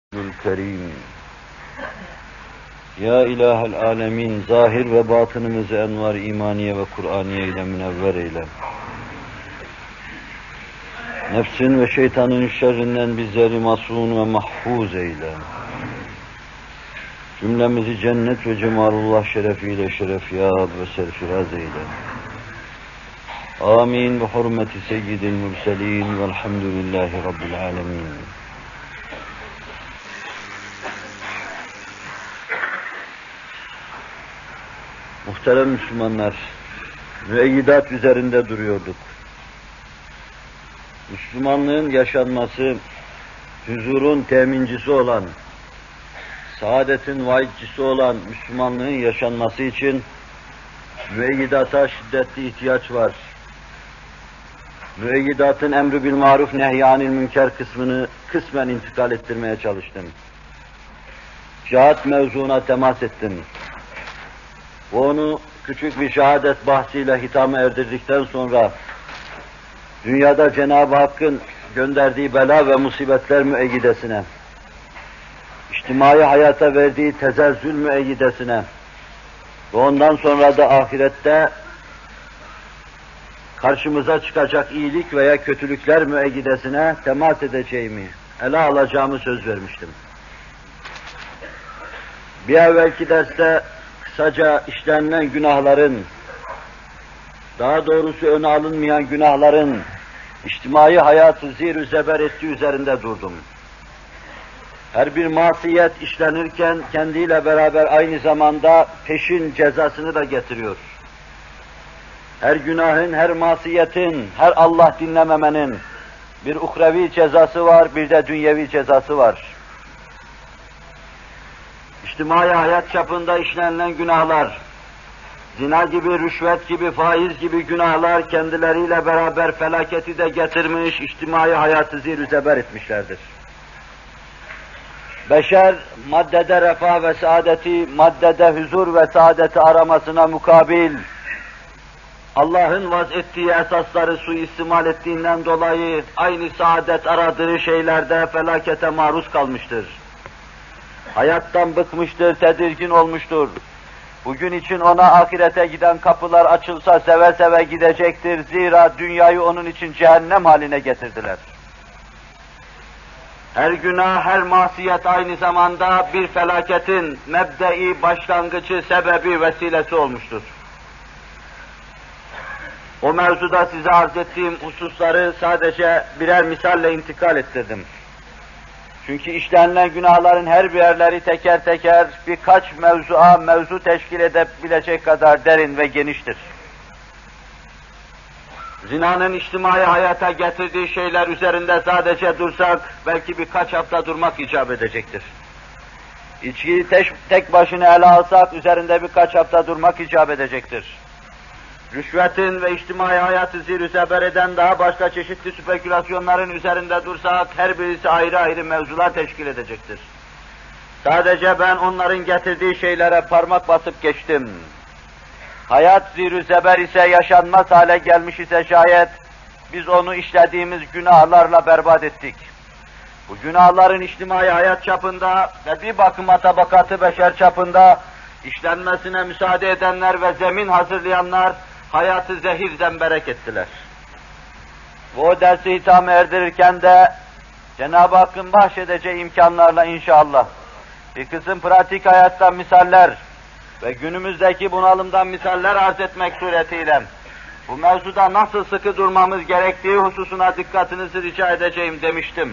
Kerim. Ya İlahel Alemin, zahir ve batınımızı envar imaniye ve Kur'aniye ile münevver eyle. Nefsin ve şeytanın şerrinden bizleri masûn ve mahfuz eyle. Cümlemizi cennet ve cemalullah şerefiyle şerefyâb ve serfiraz eyle. Amin. Bi hurmeti seyyidil mürselîn velhamdülillahi rabbil âlemin. Muhterem Müslümanlar, müeyyidat üzerinde duruyorduk. Müslümanlığın yaşanması, huzurun temincisi olan, saadetin vaidcisi olan Müslümanlığın yaşanması için müeyyidata şiddetli ihtiyaç var. Müeyyidatın emri bil maruf nehyanil münker kısmını kısmen intikal ettirmeye çalıştım. Cihat mevzuuna temas ettim. Onu küçük bir şehadet bahsiyle hitama erdirdikten sonra dünyada Cenab-ı Hakk'ın gönderdiği bela ve musibetler müeyyidesine, içtimai hayata verdiği tezelzül müeyyidesine ve ondan sonra da ahirette karşımıza çıkacak iyilik veya kötülükler müeyyidesine temas edeceğimi, ele alacağımı söz vermiştim. Bir evvelki derste kısaca işlenilen günahların, daha doğrusu öne alınmayan günahların içtimai hayatı zir-ü zeber ettiği üzerinde durdum. Her bir masiyet işlenirken kendiyle beraber aynı zamanda peşin cezasını da getiriyor. Her günahın, her masiyetin, her Allah dinlememenin bir uhrevi cezası var, bir de dünyevi cezası var. İçtimai hayat çapında işlenilen günahlar, zina gibi, rüşvet gibi, faiz gibi günahlar kendileriyle beraber felaketi de getirmiş, içtimai hayatı zir-ü zeber etmişlerdir. Beşer, maddede refah ve saadeti, maddede huzur ve saadeti aramasına mukabil, Allah'ın vaz ettiği esasları suistimal ettiğinden dolayı aynı saadet aradığı şeylerde felakete maruz kalmıştır. Hayattan bıkmıştır, tedirgin olmuştur. Bugün için ona ahirete giden kapılar açılsa seve seve gidecektir. Zira dünyayı onun için cehennem haline getirdiler. Her günah, her masiyet aynı zamanda bir felaketin mebdei, başlangıcı, sebebi, vesilesi olmuştur. O mevzuda size arz ettiğim hususları sadece birer misalle intikal ettirdim. Çünkü işlenilen günahların her birerleri teker teker birkaç mevzu teşkil edebilecek kadar derin ve geniştir. Zinanın içtimai hayata getirdiği şeyler üzerinde sadece dursak, belki birkaç hafta durmak icap edecektir. İçkiyi tek başına ele alsak, üzerinde birkaç hafta durmak icap edecektir. Rüşvetin ve içtimai hayatı zir-ü zeber eden daha başka çeşitli spekülasyonların üzerinde dursak, her birisi ayrı ayrı mevzular teşkil edecektir. Sadece ben onların getirdiği şeylere parmak basıp geçtim. Hayat zir-ü zeber ise, yaşanmaz hale gelmiş ise şayet, biz onu işlediğimiz günahlarla berbat ettik. Bu günahların içtimai hayat çapında ve bir bakıma tabakatı beşer çapında işlenmesine müsaade edenler ve zemin hazırlayanlar, hayatı zehir zemberek ettiler. Bu dersi hitama erdirirken de Cenab-ı Hakk'ın bahşedeceği imkanlarla inşallah bir kısım pratik hayattan misaller ve günümüzdeki bunalımdan misaller arz etmek suretiyle bu mevzuda nasıl sıkı durmamız gerektiği hususuna dikkatinizi rica edeceğim demiştim.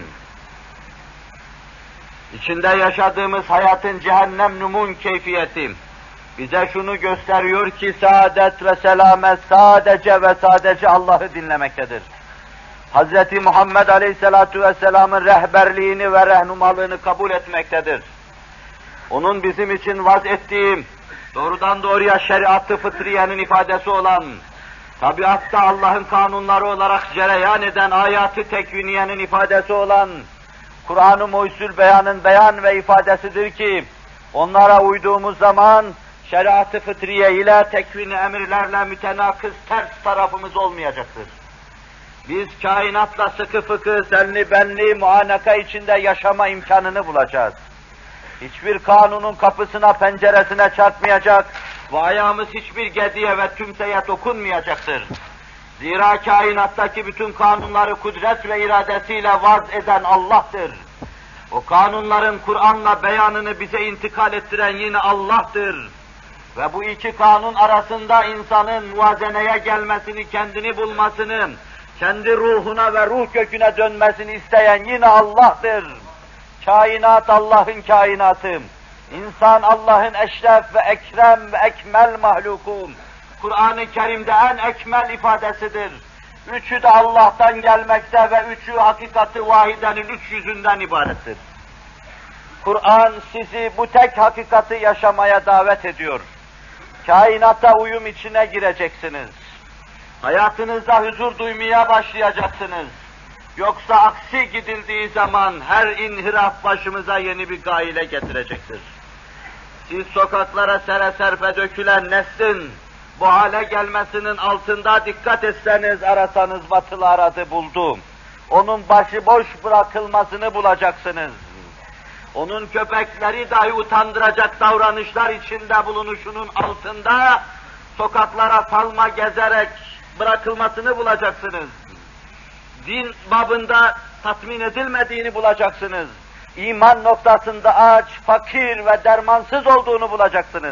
İçinde yaşadığımız hayatın cehennem numun keyfiyeti bize şunu gösteriyor ki saadet ve selamet sadece ve sadece Allah'ı dinlemektedir. Hz. Muhammed Aleyhisselatu Vesselam'ın rehberliğini ve rehnumalığını kabul etmektedir. Onun bizim için vaz ettiği, doğrudan doğruya şeriat-ı fıtriyenin ifadesi olan, tabiatta Allah'ın kanunları olarak cereyan eden ayat-ı tekviniyenin ifadesi olan, Kur'an-ı Muhyüzül Beyan'ın beyan ve ifadesidir ki, onlara uyduğumuz zaman, şeriat-ı fıtriye ile tekvini emirlerle mütenakız ters tarafımız olmayacaktır. Biz kainatla sıkı fıkı, senli benli, muanaka içinde yaşama imkanını bulacağız. Hiçbir kanunun kapısına, penceresine çarpmayacak ve ayağımız hiçbir gediye ve tümseye dokunmayacaktır. Zira kainattaki bütün kanunları kudret ve iradesiyle vaz eden Allah'tır. O kanunların Kur'an'la beyanını bize intikal ettiren yine Allah'tır. Ve bu iki kanun arasında insanın muvazeneye gelmesini, kendini bulmasını, kendi ruhuna ve ruh köküne dönmesini isteyen yine Allah'tır. Kainat Allah'ın kainatı. İnsan Allah'ın eşref ve ekrem ve ekmel mahluku. Kur'an-ı Kerim'de en ekmel ifadesidir. Üçü de Allah'tan gelmekte ve üçü hakikati vahidenin üç yüzünden ibarettir. Kur'an sizi bu tek hakikati yaşamaya davet ediyor. Kainata uyum içine gireceksiniz. Hayatınızda huzur duymaya başlayacaksınız. Yoksa aksi gidildiği zaman her inhiraf başımıza yeni bir gaile getirecektir. Siz sokaklara sere serpe dökülen neslin bu hale gelmesinin altında dikkat etseniz, arasanız batılı aradı buldu. Onun başıboş bırakılmasını bulacaksınız. Onun köpekleri dahi utandıracak davranışlar içinde bulunuşunun altında sokaklara salma gezerek bırakılmasını bulacaksınız. Din babında tatmin edilmediğini bulacaksınız. İman noktasında aç, fakir ve dermansız olduğunu bulacaksınız.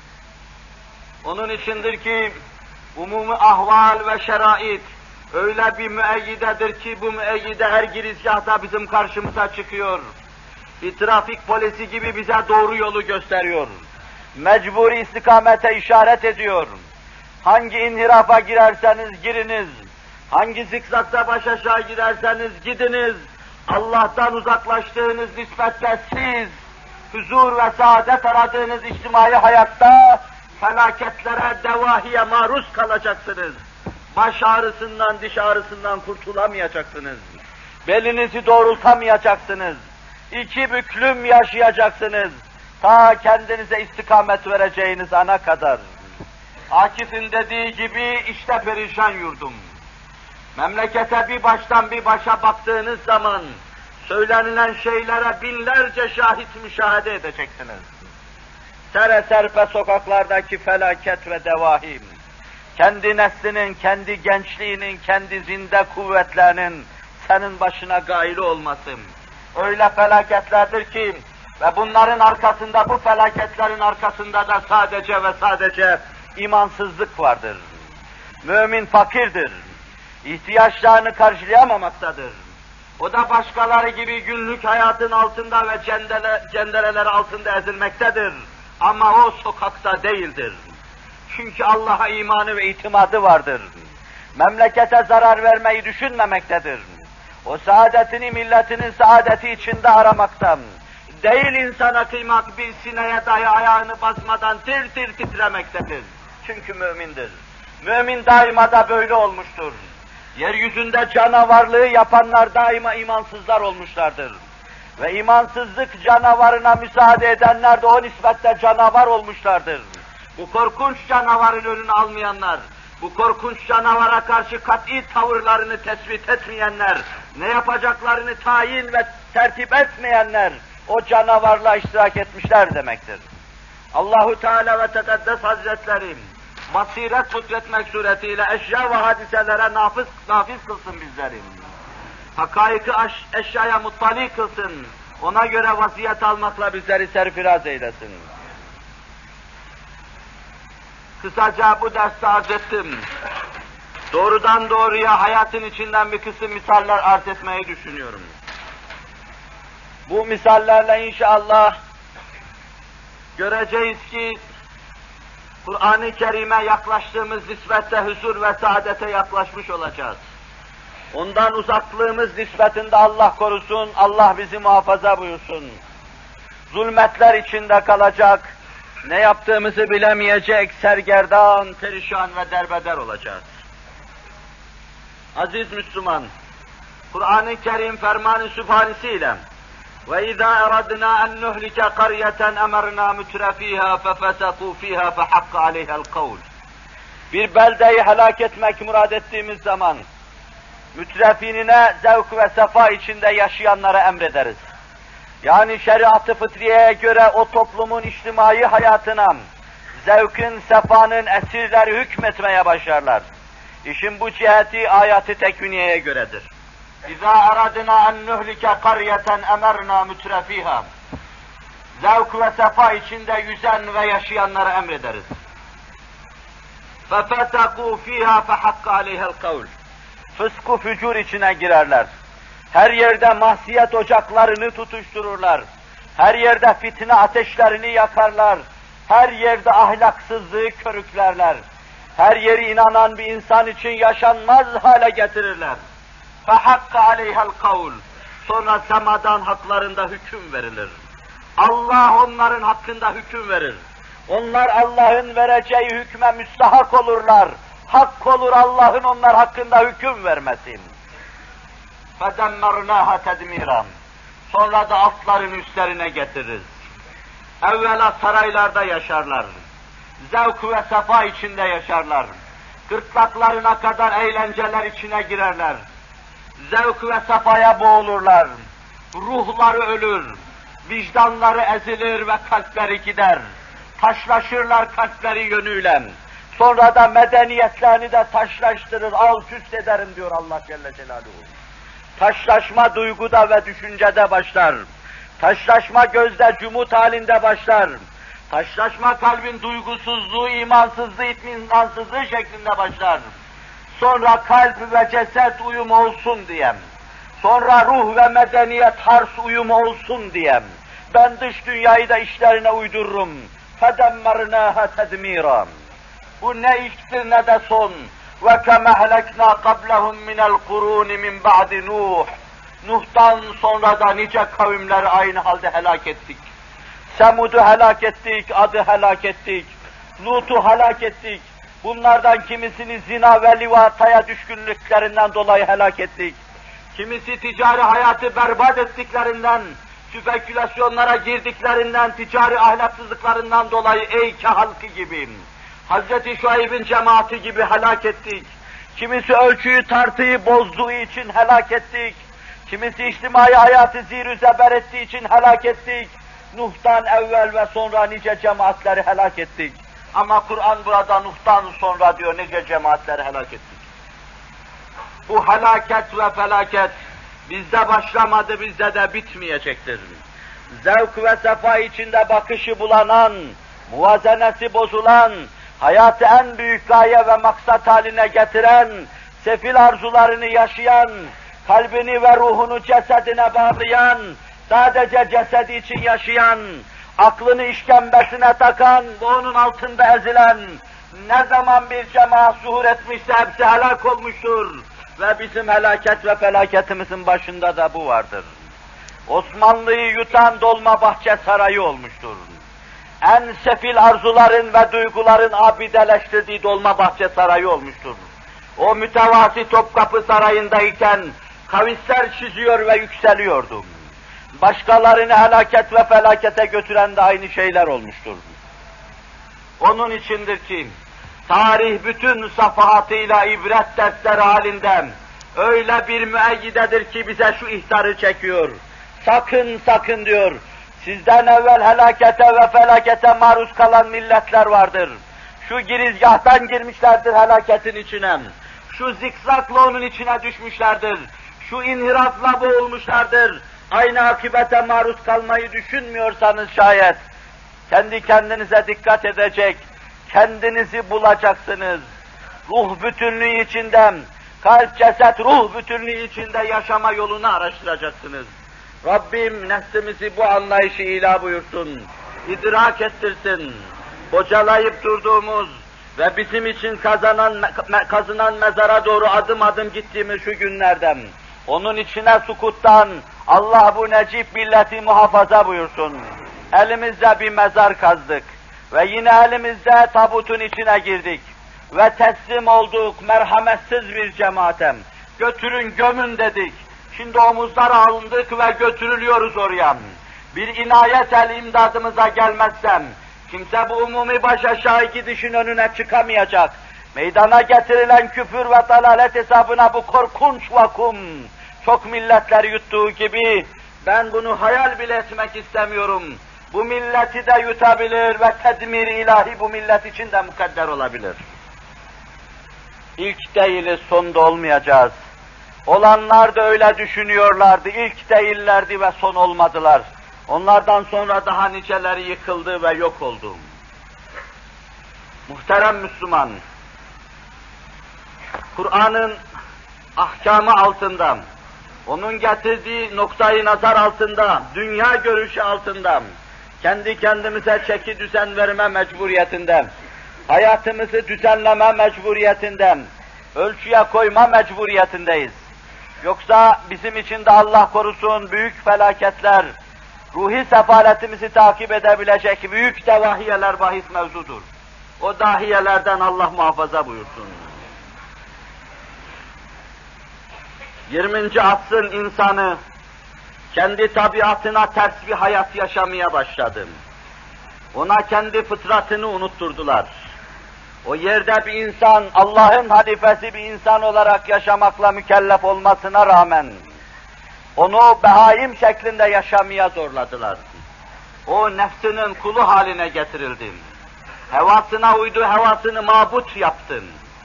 Onun içindir ki umumi ahval ve şerait öyle bir müeyyidedir ki bu müeyyide her girizgahta bizim karşımıza çıkıyor. Bir trafik polisi gibi bize doğru yolu gösteriyor. Mecburi istikamete işaret ediyor. Hangi inhirafa girerseniz giriniz, hangi zikzakta baş aşağı giderseniz gidiniz, Allah'tan uzaklaştığınız nispette siz, huzur ve saadet aradığınız içtimai hayatta felaketlere, devahiye maruz kalacaksınız. Baş ağrısından, diş ağrısından kurtulamayacaksınız. Belinizi doğrultamayacaksınız. İki büklüm yaşayacaksınız. Ta kendinize istikamet vereceğiniz ana kadar. Akif'in dediği gibi işte perişan yurdum. Memlekete bir baştan bir başa baktığınız zaman söylenilen şeylere binlerce şahit müşahede edeceksiniz. Sere serpe sokaklardaki felaket ve devahim, kendi neslinin, kendi gençliğinin, kendi zinde kuvvetlerinin senin başına gaili olması öyle felaketlerdir ki ve bunların arkasında, bu felaketlerin arkasında da sadece ve sadece imansızlık vardır. Mümin fakirdir. İhtiyaçlarını karşılayamamaktadır. O da başkaları gibi günlük hayatın altında ve cendereler altında ezilmektedir. Ama o sokakta değildir. Çünkü Allah'a imanı ve itimadı vardır. Memlekete zarar vermeyi düşünmemektedir. O saadetini milletinin saadeti içinde aramaktan, değil insana kıymak bir sineye dahi ayağını basmadan tir tir titremektedir. Çünkü mümindir. Mümin daima da böyle olmuştur. Yeryüzünde canavarlığı yapanlar daima imansızlar olmuşlardır. Ve imansızlık canavarına müsaade edenler de o nispetle canavar olmuşlardır. Bu korkunç canavarın önünü almayanlar, bu korkunç canavara karşı kat'i tavırlarını tespit etmeyenler, ne yapacaklarını tayin ve tertip etmeyenler, o canavarla iştirak etmişler demektir. Allahu Teala ve Tekaddes Hazretleri, basiret lütfetmek suretiyle eşya ve hadiselere nafiz kılsın bizleri. Hakaiki eşyaya muttali kılsın, ona göre vasiyet almakla bizleri serfiraz eylesin. Kısaca bu derste arz ettim. Doğrudan doğruya hayatın içinden bir kısım misaller arz etmeyi düşünüyorum. Bu misallerle inşallah göreceğiz ki Kur'an-ı Kerim'e yaklaştığımız nispette huzur ve saadete yaklaşmış olacağız. Ondan uzaklığımız nispetinde Allah korusun, Allah bizi muhafaza buyursun. Zulmetler içinde kalacak, ne yaptığımızı bilemeyecek, sergerdan, perişan ve derbeder olacağız. Aziz Müslüman, Kur'an-ı Kerim ferman-ı sübhanesiyle وَاِذَا اَرَدْنَا اَنْ نُهْلِكَ قَرْيَةً اَمَرْنَا مُتْرَ ف۪يهَا فَفَسَقُوا ف۪يهَا فَحَقَّ عَلَيْهَا الْقَوْلِ. Bir beldeyi helak etmek murad ettiğimiz zaman, mütrefinine zevk ve sefa içinde yaşayanlara emrederiz. Yani şeriat-ı fıtriyeye göre o toplumun içtimai hayatına zevkin, sefanın esirleri hükmetmeye başlarlar. İşin bu ciheti ayat-ı tekviniyeye göredir. İzâ aradına en nuhlike qaryeten emerna mütrefiha. Zevk ve sefa içinde yüzen ve yaşayanlara emrederiz. فَفَسَقُوا ف۪يهَا فَحَقَّ عَلَيْهَا الْقَوْلِ. Fısku fücur içine girerler. Her yerde mahsiyet ocaklarını tutuştururlar. Her yerde fitne ateşlerini yakarlar. Her yerde ahlaksızlığı körüklerler. Her yeri inanan bir insan için yaşanmaz hale getirirler. فَحَقَّ عَلَيْهَا الْقَوْلِ. Sonra semadan haklarında hüküm verilir. Allah onların hakkında hüküm verir. Onlar Allah'ın vereceği hükme müstahak olurlar. Hak olur Allah'ın onlar hakkında hüküm vermesi. فَدَمَّرْنَاهَا تَدْمِيرًا. Sonra da altların üstlerine getiririz. Evvela saraylarda yaşarlar. Zevk ve sefa içinde yaşarlar. Gırtlaklarına kadar eğlenceler içine girerler. Zevk ve sefaya boğulurlar. Ruhları ölür. Vicdanları ezilir ve kalpleri gider. Taşlaşırlar kalpleri yönüyle. Sonra da medeniyetlerini de taşlaştırır, alt üst ederim diyor Allah Celle Celaluhu. Taşlaşma duyguda ve düşüncede başlar. Taşlaşma gözde cumhut halinde başlar. Taşlaşma kalbin duygusuzluğu, imansızlığı, itminansızlığı şeklinde başlar. Sonra kalp ve ceset uyumu olsun diyem. Sonra ruh ve medeniyet hars uyumu olsun diyem. Ben dış dünyayı da işlerine uydururum. فَدَمَّرْنَاهَا تَدْمِيرًا. Bu ne ilktir ne de son. وَكَمَا هَلَكْنَا قَبْلَهُمْ مِنَ الْقُرُونِ مِنْ بَعْدِ نُوحٍ. Nuh'tan sonra da nice kavimleri aynı halde helak ettik. Semud'u helak ettik, Ad'ı helak ettik. Lut'u helak ettik. Bunlardan kimisini zina ve livataya düşkünlüklerinden dolayı helak ettik. Kimisi ticari hayatı berbat ettiklerinden, spekülasyonlara girdiklerinden, ticari ahlaksızlıklarından dolayı Eyke halkı gibi, Hz. Şuayb'in cemaati gibi helak ettik. Kimisi ölçüyü tartıyı bozduğu için helak ettik. Kimisi içtimai hayatı zir-ü zeber ettiği için helak ettik. Nuh'tan evvel ve sonra nice cemaatleri helak ettik. Ama Kur'an burada Nuh'tan sonra diyor nice cemaatleri helak ettik. Bu helaket ve felaket bizde başlamadı, bizde de bitmeyecektir. Zevk ve sefa içinde bakışı bulanan, muvazenesi bozulan, hayatı en büyük gaye ve maksat haline getiren, sefil arzularını yaşayan, kalbini ve ruhunu cesedine bağlayan, sadece cesedi için yaşayan, aklını işkembesine takan ve onun altında ezilen, ne zaman bir cemaat zuhur etmişse hepsi helak olmuştur. Ve bizim helaket ve felaketimizin başında da bu vardır. Osmanlı'yı yutan Dolmabahçe Sarayı olmuştur. En sefil arzuların ve duyguların abideleştirdiği Dolmabahçe Sarayı olmuştur. O mütevazi Topkapı Sarayı'ndayken kavisler çiziyor ve yükseliyordu. Başkalarını helaket ve felakete götüren de aynı şeyler olmuştur. Onun içindir ki, tarih bütün safahatıyla ibret dersleri halinde öyle bir müeyyidedir ki bize şu ihtarı çekiyor. Sakın sakın diyor, sizden evvel helakete ve felakete maruz kalan milletler vardır. Şu girizgahtan girmişlerdir helaketin içine. Şu zikzakla onun içine düşmüşlerdir. Şu inhirafla boğulmuşlardır. Aynı akibete maruz kalmayı düşünmüyorsanız şayet, kendi kendinize dikkat edecek, kendinizi bulacaksınız. Ruh bütünlüğü içinde, kalp, ceset, ruh bütünlüğü içinde yaşama yolunu araştıracaksınız. Rabbim neslimizi bu anlayışı ilah buyursun, idrak ettirsin. Bocalayıp durduğumuz ve bizim için kazınan mezara doğru adım adım gittiğimiz şu günlerden, onun içine sukuttan Allah bu necip milleti muhafaza buyursun. Elimizde bir mezar kazdık ve yine elimizde tabutun içine girdik ve teslim olduk merhametsiz bir cemaatem. Götürün gömün dedik. Şimdi omuzlara alındık ve götürülüyoruz oraya. Bir inayet el imdadımıza gelmezsem, kimse bu umumi baş aşağı gidişin önüne çıkamayacak. meydana getirilen küfür ve dalalet hesabına bu korkunç vakum, çok milletleri yuttuğu gibi, ben bunu hayal bile etmek istemiyorum. Bu milleti de yutabilir ve tedmir ilahi bu millet için de mukadder olabilir. İlk değiliz, sonda olmayacağız. Olanlar da öyle düşünüyorlardı, ilk değillerdi ve son olmadılar. Onlardan sonra daha niceleri yıkıldı ve yok oldu. Muhterem Müslüman, Kur'an'ın ahkamı altında, onun getirdiği noktayı nazar altında, dünya görüşü altında, kendi kendimize çeki düzen verme mecburiyetinden, hayatımızı düzenleme mecburiyetinden, ölçüye koyma mecburiyetindeyiz. Yoksa bizim için de Allah korusun büyük felaketler, ruhi sefaletimizi takip edebilecek büyük devahiyeler bahis mevzudur. O dahiyelerden Allah muhafaza buyursun. 20. asrın insanı kendi tabiatına ters bir hayat yaşamaya başladı. Ona kendi fıtratını unutturdular. O yerde bir insan, Allah'ın halifesi bir insan olarak yaşamakla mükellef olmasına rağmen, onu behaim şeklinde yaşamaya zorladılar. O nefsinin kulu haline getirildi. Hevasına uydu, hevasını mabut yaptın.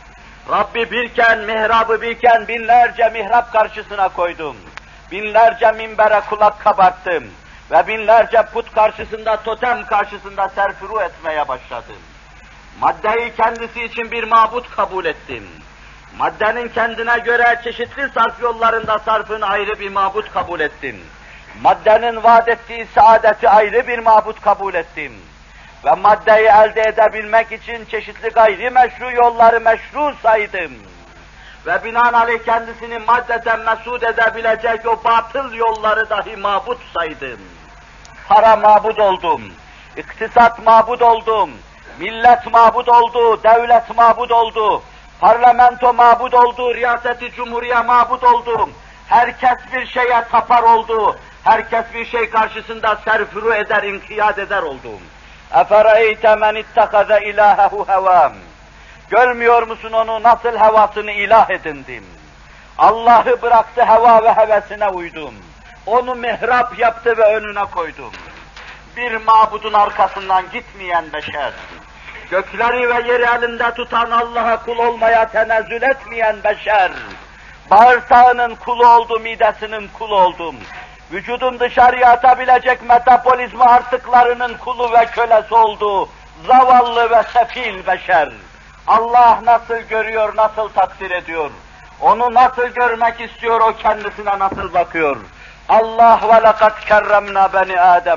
Rabbi birken, mihrabı birken binlerce mihrap karşısına koydum. Binlerce minbere kulak kabarttım. Ve binlerce put karşısında, totem karşısında serfuru etmeye başladım. Maddeyi kendisi için bir mabut kabul ettim. Maddenin kendine göre çeşitli sarf yollarında sarfını ayrı bir mabut kabul ettim. Maddenin vaat ettiği saadeti ayrı bir mabut kabul ettim. Ve maddeyi elde edebilmek için çeşitli gayri meşru yolları meşru saydım. Ve binaenaleyh kendisini maddeden mesud edebilecek o batıl yolları dahi mabut saydım. Para mabud oldum, iktisat mabud oldum, millet mabud oldu, devlet mabud oldu, parlamento mabud oldu, riyaseti cumhuriye mabud oldu. Herkes bir şeye tapar oldu, herkes bir şey karşısında serfuru eder, inkiyat eder oldu. اَفَرَيْتَ مَنِ اتَّخَذَ اِلَٰهَهُ هَوَامٍ Görmüyor musun onu nasıl hevasını ilah edindim? Allah'ı bıraktı, heva ve hevesine uydum. Onu mihrap yaptı ve önüne koydum. Bir mabudun arkasından gitmeyen beşer, gökleri ve yeri elinde tutan Allah'a kul olmaya tenezzül etmeyen beşer, bağırsağının kulu oldu, midesinin kulu oldum. Vücudun dışarıya atabilecek metabolizma artıklarının kulu ve kölesi oldu. Zavallı ve sefil beşer. Allah nasıl görüyor, nasıl takdir ediyor? Onu nasıl görmek istiyor, o kendisine nasıl bakıyor? Allah ve lekad kerremna beni Adem.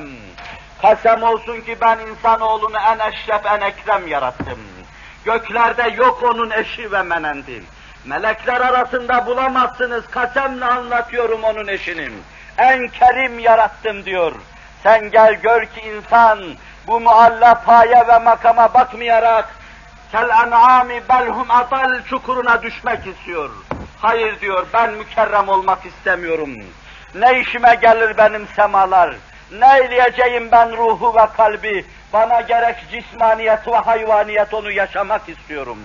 Kasem olsun ki ben insanoğlunu en eşref, en ekrem yarattım. Göklerde yok onun eşi ve menendi. Melekler arasında bulamazsınız, kasemle anlatıyorum onun eşini. En kerim yarattım diyor. Sen gel gör ki insan bu mualla paye ve makama bakmayarak kel en'ami belhum atal çukuruna düşmek istiyor. Hayır diyor, ben mükerrem olmak istemiyorum. Ne işime gelir benim semalar? Ne eyleyeceğim ben ruhu ve kalbi? Bana gerek cismaniyet ve hayvaniyet onu yaşamak istiyorum.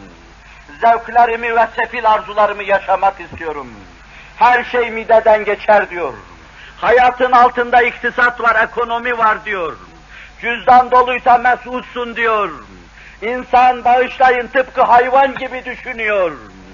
Zevklerimi ve sefil arzularımı yaşamak istiyorum. Her şey mideden geçer diyor. Hayatın altında iktisat var, ekonomi var diyor. Cüzdan doluysa mesutsun diyor. İnsan bağışlayın tıpkı hayvan gibi düşünüyor.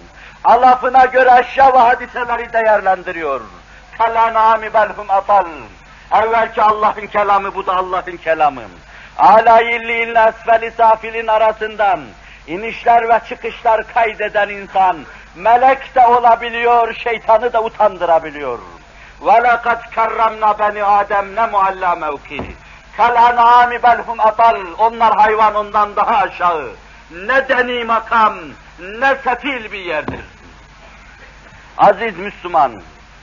Alafına göre eşya ve hadiseleri değerlendiriyor. Kelanami belhum atal. Evvelki Allah'ın kelamı, bu da Allah'ın kelamı. Âlâ illiğinle esfel-i safilin arasından inişler ve çıkışlar kaydeden insan, melek de olabiliyor, şeytanı da utandırabiliyor. وَلَقَدْ كَرَّمْنَا بَنِي آدَمْ ne mualla mevki. كَالْاَنْعَامِ بَلْهُمْ atal. Onlar hayvan ondan daha aşağı. Ne deni makam, ne sefil bir yerdir. Aziz Müslüman,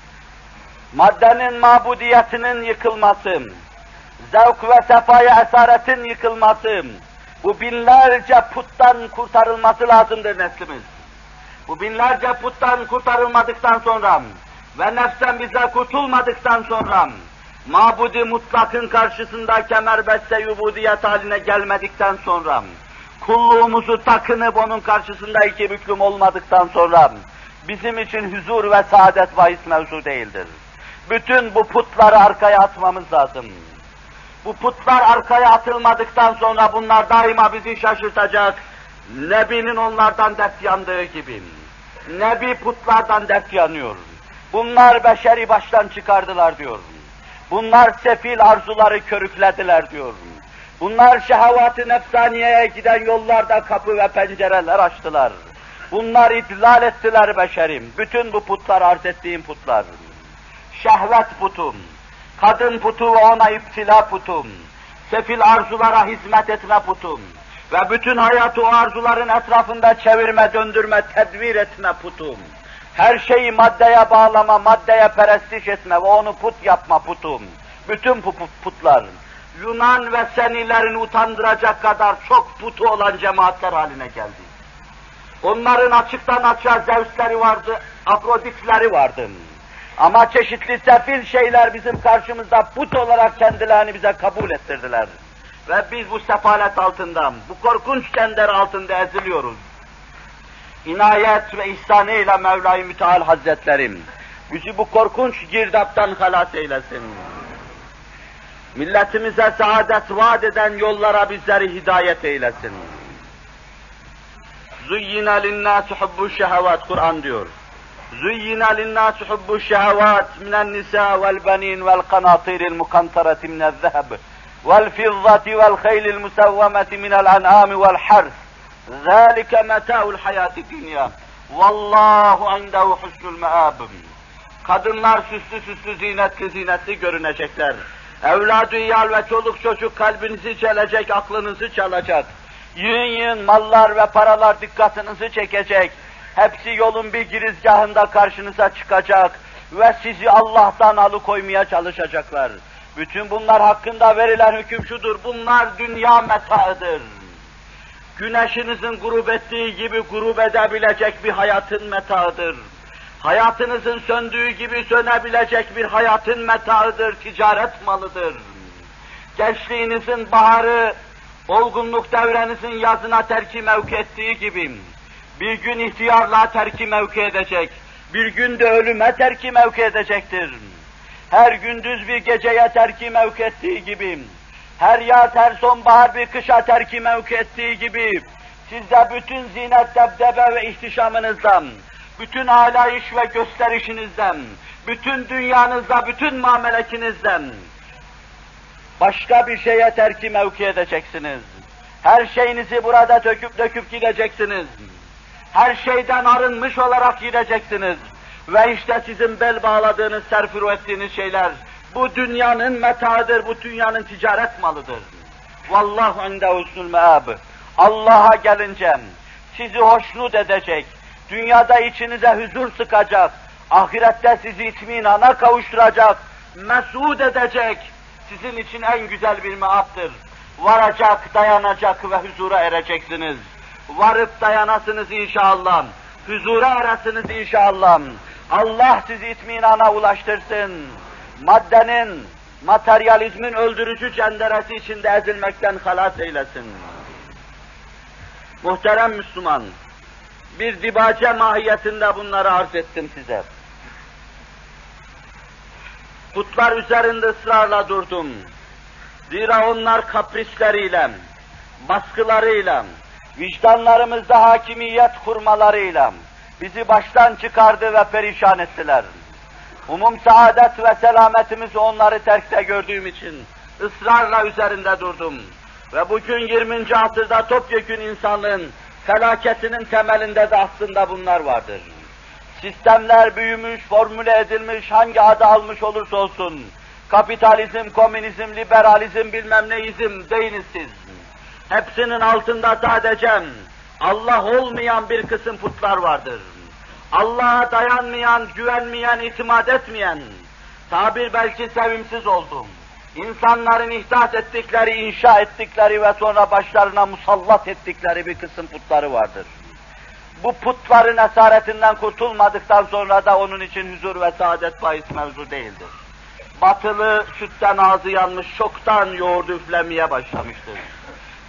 maddenin mabudiyetinin yıkılması, zevk ve sefaya esaretin yıkılması, bu binlerce puttan kurtarılması lazımdır neslimiz. Bu binlerce puttan kurtarılmadıktan sonra ve nefsen bize kurtulmadıktan sonra, mabud-i mutlakın karşısında kemerbeste yubudiyet haline gelmedikten sonra, kulluğumuzu takınıp onun karşısında iki büklüm olmadıktan sonra bizim için huzur ve saadet bahis mevzu değildir. Bütün bu putları arkaya atmamız lazım. Bu putlar arkaya atılmadıktan sonra bunlar daima bizi şaşırtacak. Nebi'nin onlardan dert yandığı gibi. Nebi putlardan dert yanıyor. Bunlar beşeri baştan çıkardılar diyor. Bunlar sefil arzuları körüklediler diyor. Bunlar şehavat-ı nefsaniyeye giden yollarda kapı ve pencereler açtılar. Bunlar idlal ettiler beşerim. Bütün bu putlar arz ettiğim putlar. Şehvet putum, kadın putu ve ona iptila putum, sefil arzulara hizmet etme putum ve bütün hayatı o arzuların etrafında çevirme, döndürme, tedbir etme putum. Her şeyi maddeye bağlama, maddeye perestiş etme ve onu put yapma putum. Bütün bu putlar, Yunan ve Senilerin utandıracak kadar çok putu olan cemaatler haline geldi. Onların açıktan açığa Zeus'leri vardı, Afrodit'leri vardı. Ama çeşitli sefil şeyler bizim karşımızda put olarak kendilerini bize kabul ettirdiler. Ve biz bu sefalet altında, bu korkunç kender altında eziliyoruz. İnayet ve ihsanıyla Mevla-i Müteal Hazretlerim bizi bu korkunç girdaptan halas eylesin. Milletimize saadet vaat eden yollara bizleri hidayet eylesin. Zuyyina linnâsi hubbu'ş-şehevat, Kur'an diyor. Zuyyina linnâsi hubbu'ş-şehevat minen-nisâ vel-benîn vel-kanâtiril mukantarati minez-zeheb vel-fizzati vel-khaylil musawwamati minel-en'âmi vel-hars. Zâlike metâ'ul hayâti-dünya. Vallâhu indehu husnul meâb. Kadınlar süslü süslü zinetli görünecekler. Evlad-ı iyal ve çoluk çocuk kalbinizi çelecek, aklınızı çalacak. Yığın mallar ve paralar dikkatinizi çekecek. Hepsi yolun bir girizgahında karşınıza çıkacak ve sizi Allah'tan alıkoymaya çalışacaklar. Bütün bunlar hakkında verilen hüküm şudur: bunlar dünya metaıdır. Güneşinizin grup ettiği gibi grup edebilecek bir hayatın metaıdır. Hayatınızın söndüğü gibi sönebilecek bir hayatın metaıdır, ticaret malıdır. Gençliğinizin baharı, olgunluk devrenizin yazına terki mevki ettiği gibi, bir gün ihtiyarlığa terki mevki edecek, bir gün de ölüme terki mevki edecektir. Her gündüz bir geceye terki mevki ettiği gibi, her yaz, her sonbahar bir kışa terki mevki ettiği gibi, siz de bütün zinet, debdebe ve ihtişamınızdan, bütün alayış ve gösterişinizden, bütün dünyanızda, bütün mamelekinizden başka bir şeye terki mevki edeceksiniz. Her şeyinizi burada döküp gideceksiniz. Her şeyden arınmış olarak gideceksiniz. Ve işte sizin bel bağladığınız, serfiru ettiğiniz şeyler, bu dünyanın metaıdır, bu dünyanın ticaret malıdır. Vallahu indehu husnul meâb. Allah'a gelince sizi hoşnut edecek, dünyada içinize huzur sıkacak, ahirette sizi itminana kavuşturacak, mesud edecek, sizin için en güzel bir meaptır. Varacak, dayanacak ve huzura ereceksiniz. Varıp dayanasınız inşallah, huzura eresiniz inşallah. Allah sizi itminana ulaştırsın. Maddenin, materyalizmin öldürücü cenderesi içinde ezilmekten halas eylesin. Muhterem Müslüman, bir dibace mahiyetinde bunları arz ettim size. Putlar üzerinde ısrarla durdum. Zira onlar kaprisleriyle, baskılarıyla, vicdanlarımızda hakimiyet kurmalarıyla bizi baştan çıkardı ve perişan ettiler. Umum saadet ve selametimizi onları terkte gördüğüm için ısrarla üzerinde durdum. Ve bugün 20. asırda topyekün insanlığın felaketinin temelinde de aslında bunlar vardır. Sistemler büyümüş, formüle edilmiş, hangi adı almış olursa olsun, kapitalizm, komünizm, liberalizm, bilmem neizm deyiniz siz. Hepsinin altında sadece Allah olmayan bir kısım putlar vardır. Allah'a dayanmayan, güvenmeyen, itimat etmeyen, tabir belki sevimsiz oldum. İnsanların ihdas ettikleri, inşa ettikleri ve sonra başlarına musallat ettikleri bir kısım putları vardır. Bu putların esaretinden kurtulmadıktan sonra da onun için huzur ve saadet bahis mevzu değildir. Batılı sütten ağzı yanmış, çoktan yoğurdu üflemeye başlamıştır.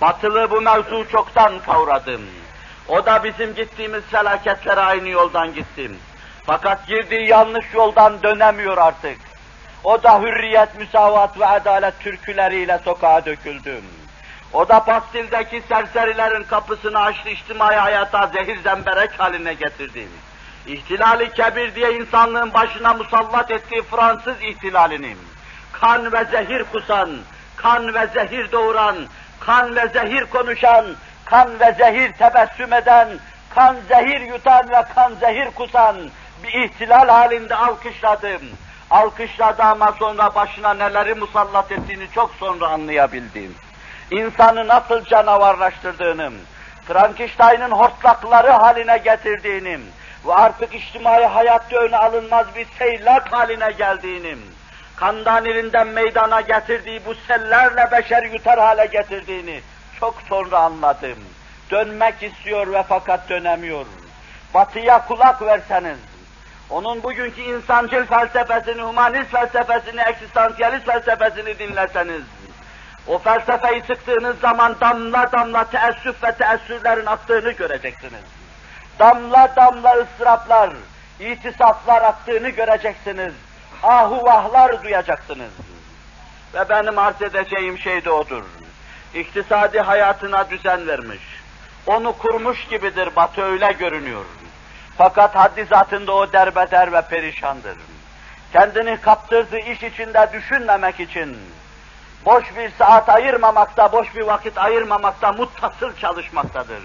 Batılı bu mevzu çoktan kavradım. O da bizim gittiğimiz felaketlere aynı yoldan gittim. Fakat girdiği yanlış yoldan dönemiyor artık. O da hürriyet, müsavat ve adalet türküleriyle sokağa döküldüm. O da Bastil'deki serserilerin kapısını açtı, içtimai hayata zehir zemberek haline getirdi. İhtilali kebir diye insanlığın başına musallat ettiği Fransız ihtilalini, kan ve zehir kusan, kan ve zehir doğuran, kan ve zehir konuşan, kan ve zehir tebessüm eden, kan zehir yutan ve kan zehir kusan bir ihtilal halinde alkışladım. Alkışladı ama sonra başına neleri musallat ettiğini çok sonra anlayabildim. İnsanı nasıl canavarlaştırdığını, Frankenstein'ın hortlakları haline getirdiğini ve artık içtimai hayatta öne alınmaz bir seylak haline geldiğini, Kandanirinden meydana getirdiği bu sellerle beşer yutar hale getirdiğini çok sonra anladım. Dönmek istiyor ve fakat dönemiyor. Batıya kulak verseniz, onun bugünkü insancıl felsefesini, humanist felsefesini, eksistansiyalist felsefesini dinleseniz, o felsefeyi sıktığınız zaman damla damla teessüf ve teessürlerin aktığını göreceksiniz. Damla damla ıstıraplar, itisaflar aktığını göreceksiniz. Ahu vahlar duyacaksınız. Ve benim arz edeceğim şey de odur. İktisadi hayatına düzen vermiş. Onu kurmuş gibidir, Batı öyle görünüyor. Fakat haddi zatında o derbeder ve perişandır. Kendini kaptırdığı iş içinde düşünmemek için, boş bir saat ayırmamakta, boş bir vakit ayırmamakta muttasıl çalışmaktadır.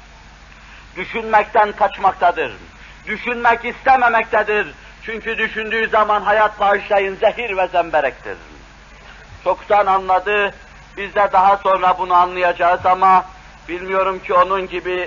Düşünmekten kaçmaktadır. Düşünmek istememektedir. Çünkü düşündüğü zaman hayat bağışlayın zehir ve zemberektir. Çoktan anladı, biz de daha sonra bunu anlayacağız ama bilmiyorum ki onun gibi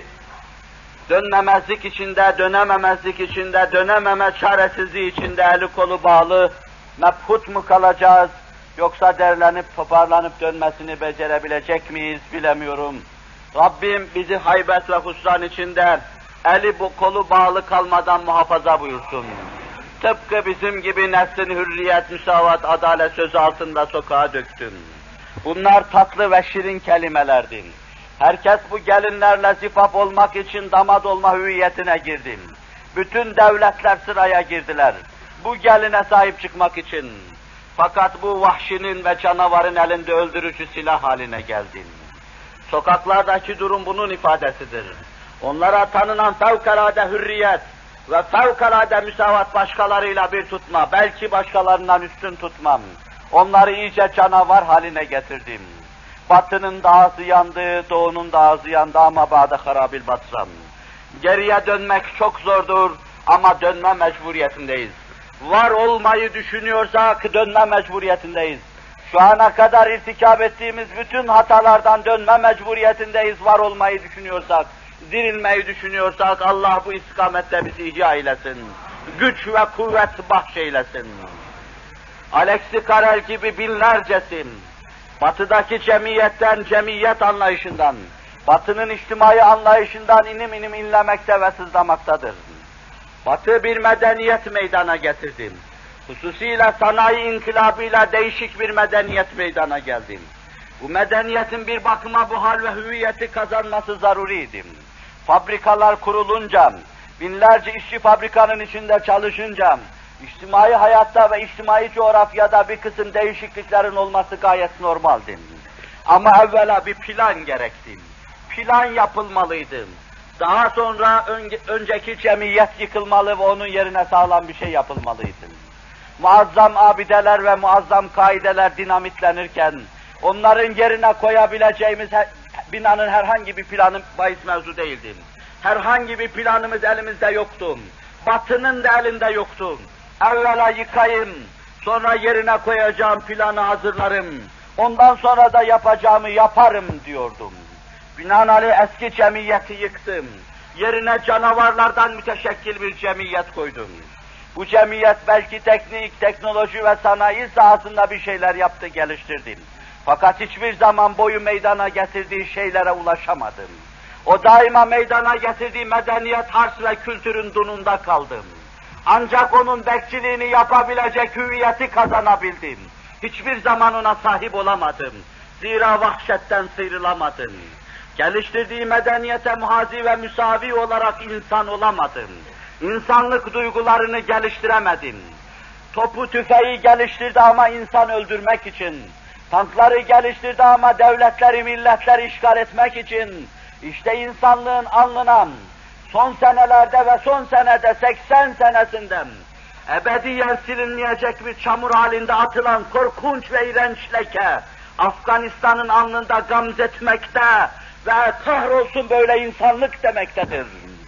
dönmemezlik içinde, dönememezlik içinde, dönememe çaresizliği içinde eli kolu bağlı, mebhut mu kalacağız, yoksa derlenip toparlanıp dönmesini becerebilecek miyiz bilemiyorum. Rabbim bizi haybet ve husran içinde eli bu kolu bağlı kalmadan muhafaza buyursun. Tıpkı bizim gibi neslin hürriyet, müsavat, adalet sözü altında sokağa döktüm. Bunlar tatlı ve şirin kelimelerdi. Herkes bu gelinlerle zifaf olmak için damat olma hüviyetine girdi. Bütün devletler sıraya girdiler. Bu geline sahip çıkmak için. Fakat bu vahşinin ve canavarın elinde öldürücü silah haline geldi. Sokaklardaki durum bunun ifadesidir. Onlara tanınan fevkalade hürriyet ve fevkalade müsavat başkalarıyla bir tutma, belki başkalarından üstün tutmam. Onları iyice canavar haline getirdim. Batının da ağzı yandı, doğunun da ağzı yandı ama ba'de harabil batsam. Geriye dönmek çok zordur ama dönme mecburiyetindeyiz. Var olmayı düşünüyorsak dönme mecburiyetindeyiz. Şu ana kadar irtikab ettiğimiz bütün hatalardan dönme mecburiyetindeyiz, var olmayı düşünüyorsak. Dirilmeyi düşünüyorsak Allah bu istikamette bizi ihya eylesin. Güç ve kuvvet bahşeylesin. Alexis Carrel gibi binlercesi Batı'daki cemiyetten, cemiyet anlayışından, Batı'nın içtimai anlayışından inim inim inlemekte ve sızlamaktadır. Batı bir medeniyet meydana getirdi. Hususiyle sanayi inkılabıyla değişik bir medeniyet meydana geldi. Bu medeniyetin bir bakıma bu hal ve hüviyeti kazanması zaruriydi. Fabrikalar kurulunca, binlerce işçi fabrikanın içinde çalışınca, içtimai hayatta ve içtimai coğrafyada bir kısım değişikliklerin olması gayet normaldi. Ama evvela bir plan gerekti. Plan yapılmalıydı. Daha sonra önceki cemiyet yıkılmalı ve onun yerine sağlam bir şey yapılmalıydı. Muazzam abideler ve muazzam kaideler dinamitlenirken, onların yerine koyabileceğimiz binanın herhangi bir planı bahis mevzu değildi. Herhangi bir planımız elimizde yoktu. Batının da elinde yoktu. Evvela yıkayım, sonra yerine koyacağım planı hazırlarım. Ondan sonra da yapacağımı yaparım diyordum. Binaenaleyh eski cemiyeti yıktım. Yerine canavarlardan müteşekkil bir cemiyet koydum. Bu cemiyet belki teknik, teknoloji ve sanayi sahasında bir şeyler yaptı, geliştirdi. Fakat hiçbir zaman boyu meydana getirdiği şeylere ulaşamadım. O daima meydana getirdiği medeniyet, hars ve kültürün dununda kaldım. Ancak onun bekçiliğini yapabilecek hüviyeti kazanabildim. Hiçbir zaman ona sahip olamadım. Zira vahşetten sıyrılamadın. Geliştirdiği medeniyete muhazi ve müsavi olarak insan olamadın. İnsanlık duygularını geliştiremedin. Topu tüfeği geliştirdi ama insan öldürmek için. Tankları geliştirdi ama devletleri, milletleri işgal etmek için. İşte insanlığın alnına son senelerde ve son senede 80 senesinden ebediyen silinmeyecek bir çamur halinde atılan korkunç ve iğrenç leke, Afganistan'ın alnında gamzetmekte ve kahrolsun böyle insanlık demektedir.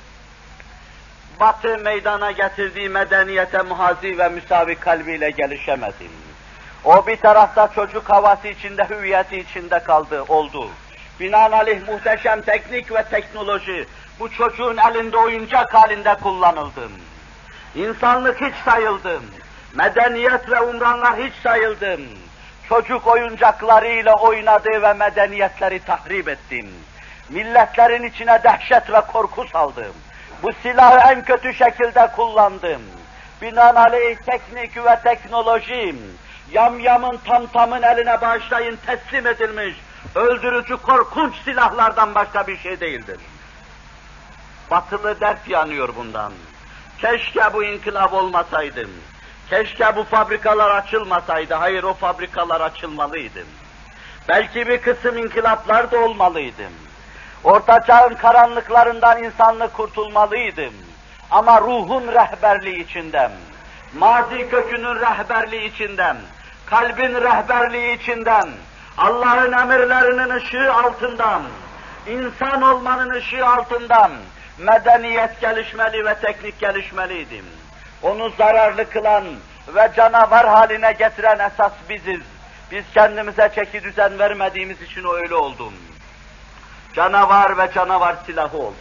Batı meydana getirdiği medeniyete muhazi ve müsavi kalbiyle gelişemedi. O bir tarafta çocuk havası içinde, hüviyeti içinde oldu. Binaenaleyh muhteşem teknik ve teknoloji bu çocuğun elinde oyuncak halinde kullanıldı. İnsanlık hiç sayıldı. Medeniyet ve umranlar hiç sayıldı. Çocuk oyuncaklarıyla oynadı ve medeniyetleri tahrip etti. Milletlerin içine dehşet ve korku saldı. Bu silahı en kötü şekilde kullandım. Binaenaleyh teknik ve teknoloji, yamyamın tamtamın eline bağışlayın teslim edilmiş, öldürücü korkunç silahlardan başka bir şey değildir. Batılı dert yanıyor bundan. Keşke bu inkılap olmasaydı. Keşke bu fabrikalar açılmasaydı. Hayır, o fabrikalar açılmalıydı. Belki bir kısım inkılaplar da olmalıydı. Orta çağın karanlıklarından insanlık kurtulmalıydı. Ama ruhun rehberliği içinden, mazi kökünün rehberliği içinden, kalbin rehberliği içinden, Allah'ın emirlerinin ışığı altından, insan olmanın ışığı altından medeniyet gelişmeli ve teknik gelişmeliydi. Onu zararlı kılan ve canavar haline getiren esas biziz. Biz kendimize çeki düzen vermediğimiz için o öyle oldu. Canavar ve canavar silahı oldu.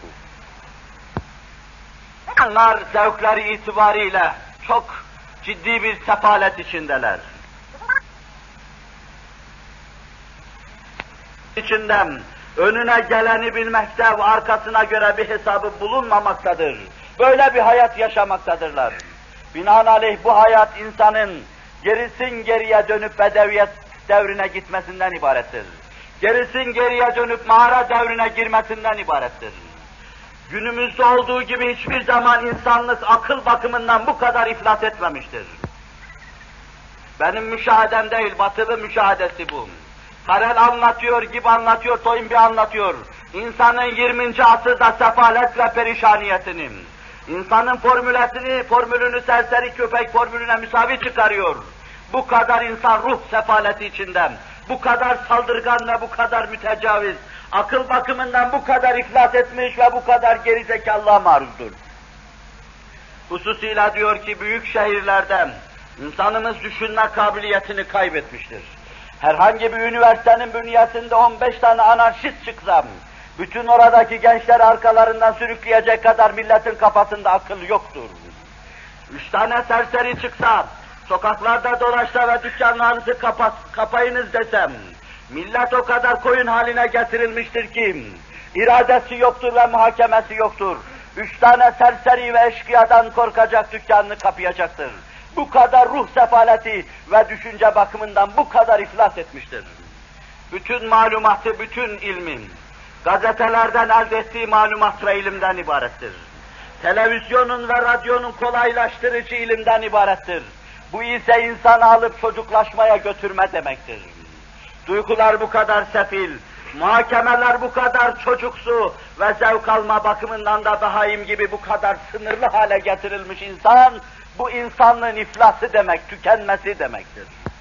Onlar zevkleri itibariyle çok ciddi bir sefalet içindeler. İçinden önüne geleni bilmekte ve arkasına göre bir hesabı bulunmamaktadır. Böyle bir hayat yaşamaktadırlar. Binaenaleyh bu hayat insanın gerisin geriye dönüp bedeviyet devrine gitmesinden ibarettir. Gerisin geriye dönüp mağara devrine girmesinden ibarettir. Günümüzde olduğu gibi hiçbir zaman insanlık akıl bakımından bu kadar iflas etmemiştir. Benim müşahedem değil, batılı müşahedesi bu. Karel anlatıyor, gibi anlatıyor, Toynbee anlatıyor. İnsanın 20. asırda sefalet ve perişaniyetini, insanın formülünü serseri köpek formülüne müsavi çıkarıyor. Bu kadar insan ruh sefaleti içinden, bu kadar saldırgan ve bu kadar mütecaviz, akıl bakımından bu kadar iflas etmiş ve bu kadar gerizekalılığa maruzdur. Hususıyla diyor ki büyük şehirlerden insanımız düşünme kabiliyetini kaybetmiştir. Herhangi bir üniversitenin bünyesinde 15 tane anarşist çıksam, bütün oradaki gençler arkalarından sürükleyecek kadar milletin kafasında akıl yoktur. 3 tane serseri çıksa, sokaklarda dolaşsa ve dükkanlarınızı kapayınız desem, millet o kadar koyun haline getirilmiştir ki, iradesi yoktur ve muhakemesi yoktur. 3 tane serseri ve eşkıyadan korkacak, dükkanını kapayacaktır. Bu kadar ruh sefaleti ve düşünce bakımından bu kadar iflas etmiştir. Bütün malumatı, bütün ilmin, gazetelerden elde ettiği malumat ve ilimden ibarettir. Televizyonun ve radyonun kolaylaştırıcı ilimden ibarettir. Bu ise insanı alıp çocuklaşmaya götürme demektir. Duygular bu kadar sefil, muhakemeler bu kadar çocuksu ve zevk alma bakımından da behaim gibi bu kadar sınırlı hale getirilmiş insan, bu insanlığın iflası demek, tükenmesi demektir.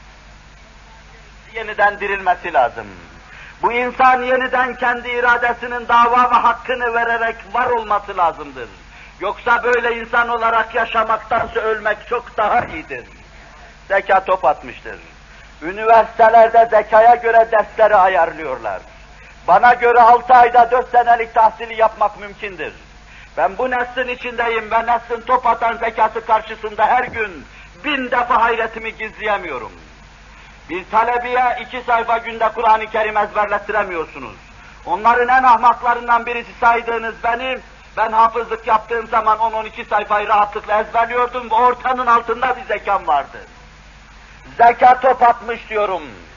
Yeniden dirilmesi lazım. Bu insan yeniden kendi iradesinin dava ve hakkını vererek var olması lazımdır. Yoksa böyle insan olarak yaşamaktansa ölmek çok daha iyidir. Zeka top atmıştır. Üniversitelerde zekaya göre dersleri ayarlıyorlar. Bana göre 6 ayda 4 senelik tahsili yapmak mümkündür. Ben bu neslin içindeyim ve neslin top atan zekası karşısında her gün 1000 defa hayretimi gizleyemiyorum. Bir talebeye 2 sayfa günde Kur'an-ı Kerim ezberlettiremiyorsunuz. Onların en ahmaklarından birisi saydığınız benim, ben hafızlık yaptığım zaman 10-12 sayfayı rahatlıkla ezberliyordum ve ortanın altında bir zekam vardı. Zeka top atmış diyorum.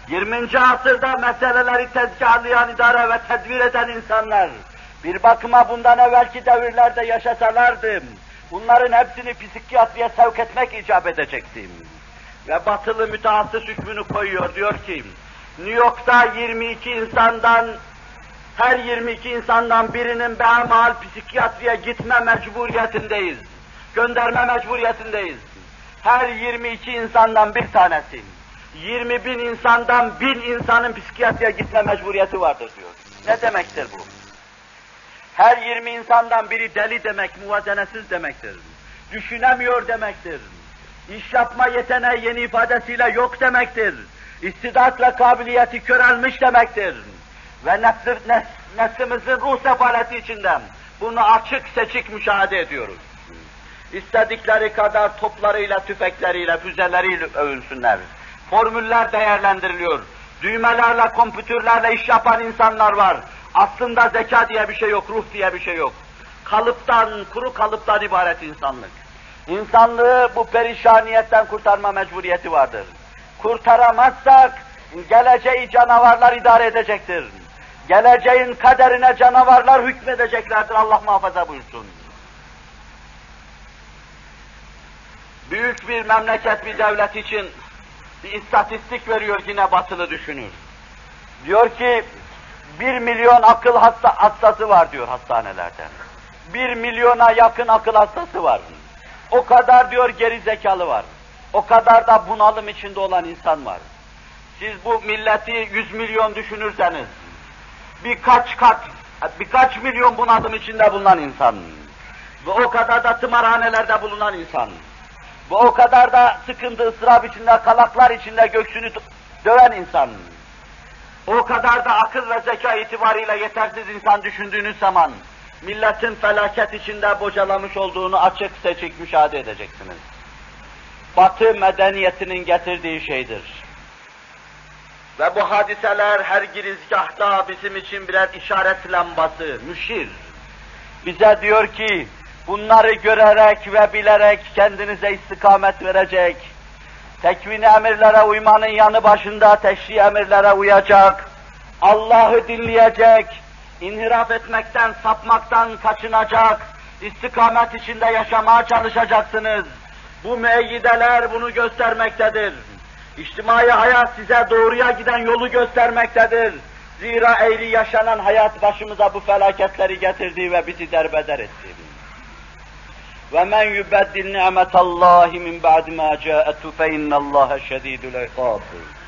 20. asırda meseleleri tezgahlayan, idare ve tedbir eden insanlar, bir bakıma bundan evvelki devirlerde yaşasalardı, bunların hepsini psikiyatriye sevk etmek icap edecekti. Ve batılı mütehassıs hükmünü koyuyor, diyor ki, New York'ta 22 insandan, her 22 insandan birinin behemahal psikiyatriye gitme mecburiyetindeyiz. Gönderme mecburiyetindeyiz. Her 22 insandan bir tanesi, 20.000 insandan 1000 insanın psikiyatriye gitme mecburiyeti vardır diyor. Ne demektir bu? Her 20 insandan biri deli demek, muvazenesiz demektir. Düşünemiyor demektir. İş yapma yeteneği yeni ifadesiyle yok demektir. İstidat ve kabiliyeti körelmiş demektir. Ve nefsimizin ruh sefaleti içinden bunu açık seçik müşahede ediyoruz. İstedikleri kadar toplarıyla, tüfekleriyle, füzeleriyle övünsünler. Formüller değerlendiriliyor. Düğmelerle, kompütürlerle iş yapan insanlar var. Aslında zeka diye bir şey yok, ruh diye bir şey yok. Kalıptan, kuru kalıptan ibaret insanlık. İnsanlığı bu perişaniyetten kurtarma mecburiyeti vardır. Kurtaramazsak, geleceği canavarlar idare edecektir. Geleceğin kaderine canavarlar hükmedeceklerdir, Allah muhafaza buyursun. Büyük bir memleket, bir devlet için bir istatistik veriyor yine batılı düşünür. Diyor ki, 1 milyon akıl hastası var diyor hastanelerden. 1 milyona yakın akıl hastası var. O kadar diyor geri zekalı var. O kadar da bunalım içinde olan insan var. Siz bu milleti 100 milyon düşünürseniz, birkaç milyon bunalım içinde bulunan insan, ve o kadar da tımarhanelerde bulunan insan, ve o kadar da sıkıntı, ıstırap içinde, kalaklar içinde göğsünü döven insan, o kadar da akıl ve zeka itibariyle yetersiz insan düşündüğünüz zaman, milletin felaket içinde bocalamış olduğunu açık seçik müşahede edeceksiniz. Batı medeniyetinin getirdiği şeydir. Ve bu hadiseler her girizgahta bizim için birer işaret lambası, müşir. Bize diyor ki, bunları görerek ve bilerek kendinize istikamet verecek, tekvin-i emirlere uymanın yanı başında teşri emirlere uyacak, Allah'ı dinleyecek, inhiraf etmekten, sapmaktan kaçınacak, istikamet içinde yaşamaya çalışacaksınız. Bu müeyyideler bunu göstermektedir. İçtimai hayat size doğruya giden yolu göstermektedir. Zira eğri yaşanan hayat başımıza bu felaketleri getirdi ve bizi derbeder etti. وَمَنْ يُبَدِّلْ نِعْمَةَ اللّٰهِ مِنْ بَعْدِ مَا جَاءَتْهُ فَاِنَّ اللّٰهَ شَد۪يدُ الْعِقَابِ.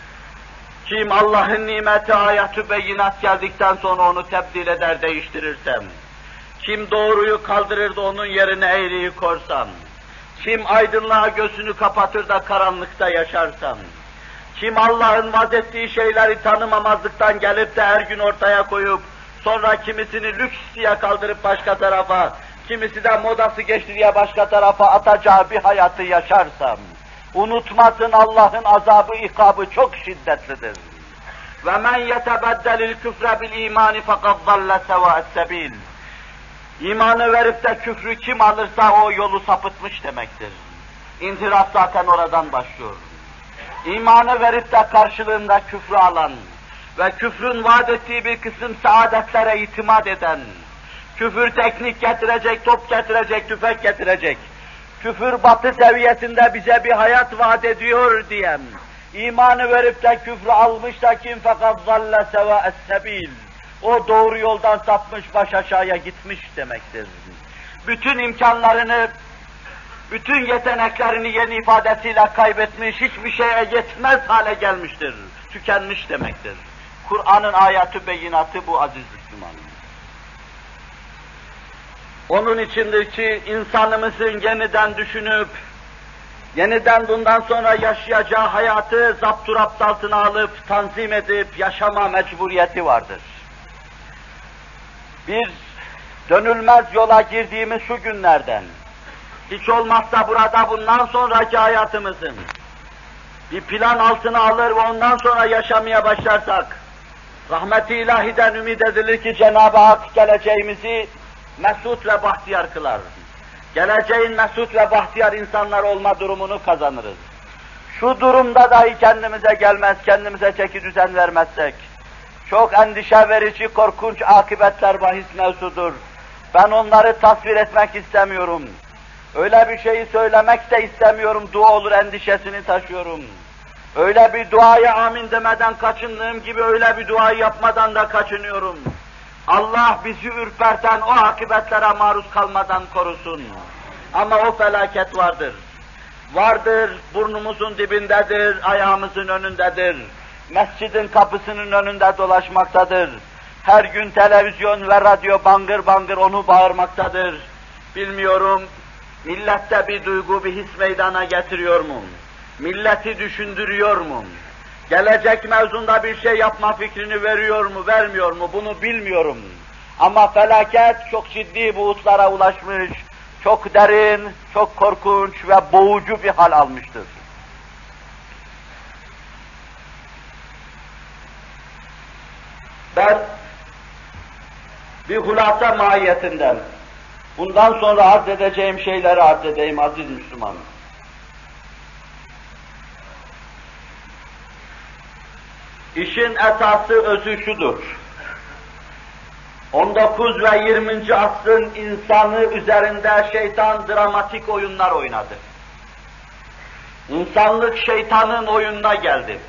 Kim Allah'ın nimeti, ayatü beyinat geldikten sonra onu tebdil eder, değiştirirsem, kim doğruyu kaldırır da onun yerine eğriyi korsam, kim aydınlığa gözünü kapatır da karanlıkta yaşarsam, kim Allah'ın vazettiği şeyleri tanımamazlıktan gelip de her gün ortaya koyup, sonra kimisini lüks diye kaldırıp başka tarafa, kimisi de modası geçti diye başka tarafa atacağı bir hayatı yaşarsam, unutmasın Allah'ın azabı, ikabı çok şiddetlidir. وَمَنْ يَتَبَدَّلِ الْكُفْرَ بِالْا۪يمَانِ فَقَدْ ضَلَّ سَوَاءَ السَّب۪يلِ. İmanı verip de küfrü kim alırsa o yolu sapıtmış demektir. İnhiraf zaten oradan başlıyor. İmanı verip de karşılığında küfrü alan ve küfrün vaat ettiği bir kısım saadetlere itimat eden, küfür teknik getirecek, top getirecek, tüfek getirecek, küfür batı seviyesinde bize bir hayat vaat ediyor diyen, imanı verip de küfrü almış da kim fakat zalle sevâ es-sebil, o doğru yoldan sapmış, baş aşağıya gitmiş demektir. Bütün imkanlarını, bütün yeteneklerini yeni ifadesiyle kaybetmiş, hiçbir şeye yetmez hale gelmiştir, tükenmiş demektir. Kur'an'ın ayatı beyinatı bu aziz Müslüman. Onun içindir ki insanımızın yeniden düşünüp, yeniden bundan sonra yaşayacağı hayatı zapturapt altına alıp, tanzim edip yaşama mecburiyeti vardır. Biz dönülmez yola girdiğimiz şu günlerden, hiç olmazsa burada bundan sonraki hayatımızın bir plan altına alır ve ondan sonra yaşamaya başlarsak, rahmet-i ilahiden ümid edilir ki Cenab-ı Hak geleceğimizi mesut ve bahtiyar kılar. Geleceğin mesut ve bahtiyar insanlar olma durumunu kazanırız. şu durumda dahi kendimize gelmez, kendimize çeki düzen vermezsek, çok endişe verici, korkunç akıbetler bahis mevzudur. Ben onları tasvir etmek istemiyorum. Öyle bir şeyi söylemek de istemiyorum, dua olur endişesini taşıyorum. Öyle bir duaya amin demeden kaçındığım gibi öyle bir duayı yapmadan da kaçınıyorum. Allah bizi ürperten o akıbetlere maruz kalmadan korusun. Ama o felaket vardır. Vardır, burnumuzun dibindedir, ayağımızın önündedir. Mescidin kapısının önünde dolaşmaktadır. Her gün televizyon ve radyo bangır bangır onu bağırmaktadır. Bilmiyorum, millette bir duygu, bir his meydana getiriyor mu? Milleti düşündürüyor mu? Gelecek mevzunda bir şey yapma fikrini veriyor mu, vermiyor mu? Bunu bilmiyorum. Ama felaket çok ciddi boyutlara ulaşmış, çok derin, çok korkunç ve boğucu bir hal almıştır. Ben bir hulasa mahiyetinden bundan sonra arz edeceğim şeyleri arz edeyim aziz Müslümanım. İşin esası, özü şudur. 19 ve 20. asrın insanı üzerinde şeytan dramatik oyunlar oynadı. İnsanlık şeytanın oyununa geldi.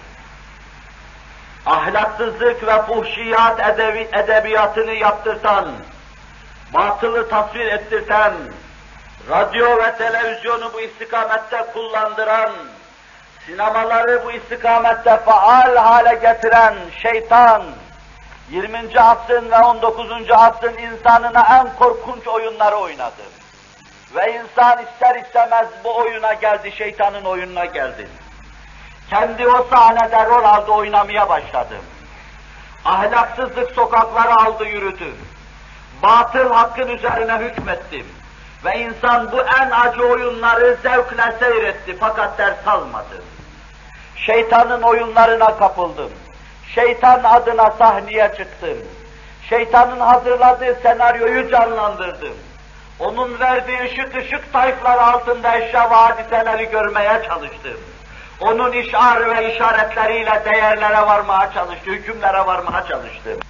Ahlaksızlık ve fuhşiyat edebiyatını yaptırtan, batılı tasvir ettirten, radyo ve televizyonu bu istikamette kullandıran, sinemaları bu istikamette faal hale getiren şeytan, 20. asrın ve 19. asrın insanına en korkunç oyunları oynadı. Ve insan ister istemez bu oyuna geldi, şeytanın oyununa geldi. Kendi o sahnede rol aldı, oynamaya başladı. Ahlaksızlık sokakları aldı, yürüdü. Batıl hakkın üzerine hükmetti. Ve insan bu en acı oyunları zevkle seyretti fakat ders almadı. Şeytanın oyunlarına kapıldım. Şeytan adına sahneye çıktım. Şeytanın hazırladığı senaryoyu canlandırdım. Onun verdiği ışık tayfları altında eşya ve hadiseleri görmeye çalıştım. Onun işar ve işaretleriyle değerlere varmaya çalıştım, hükümlere varmaya çalıştım.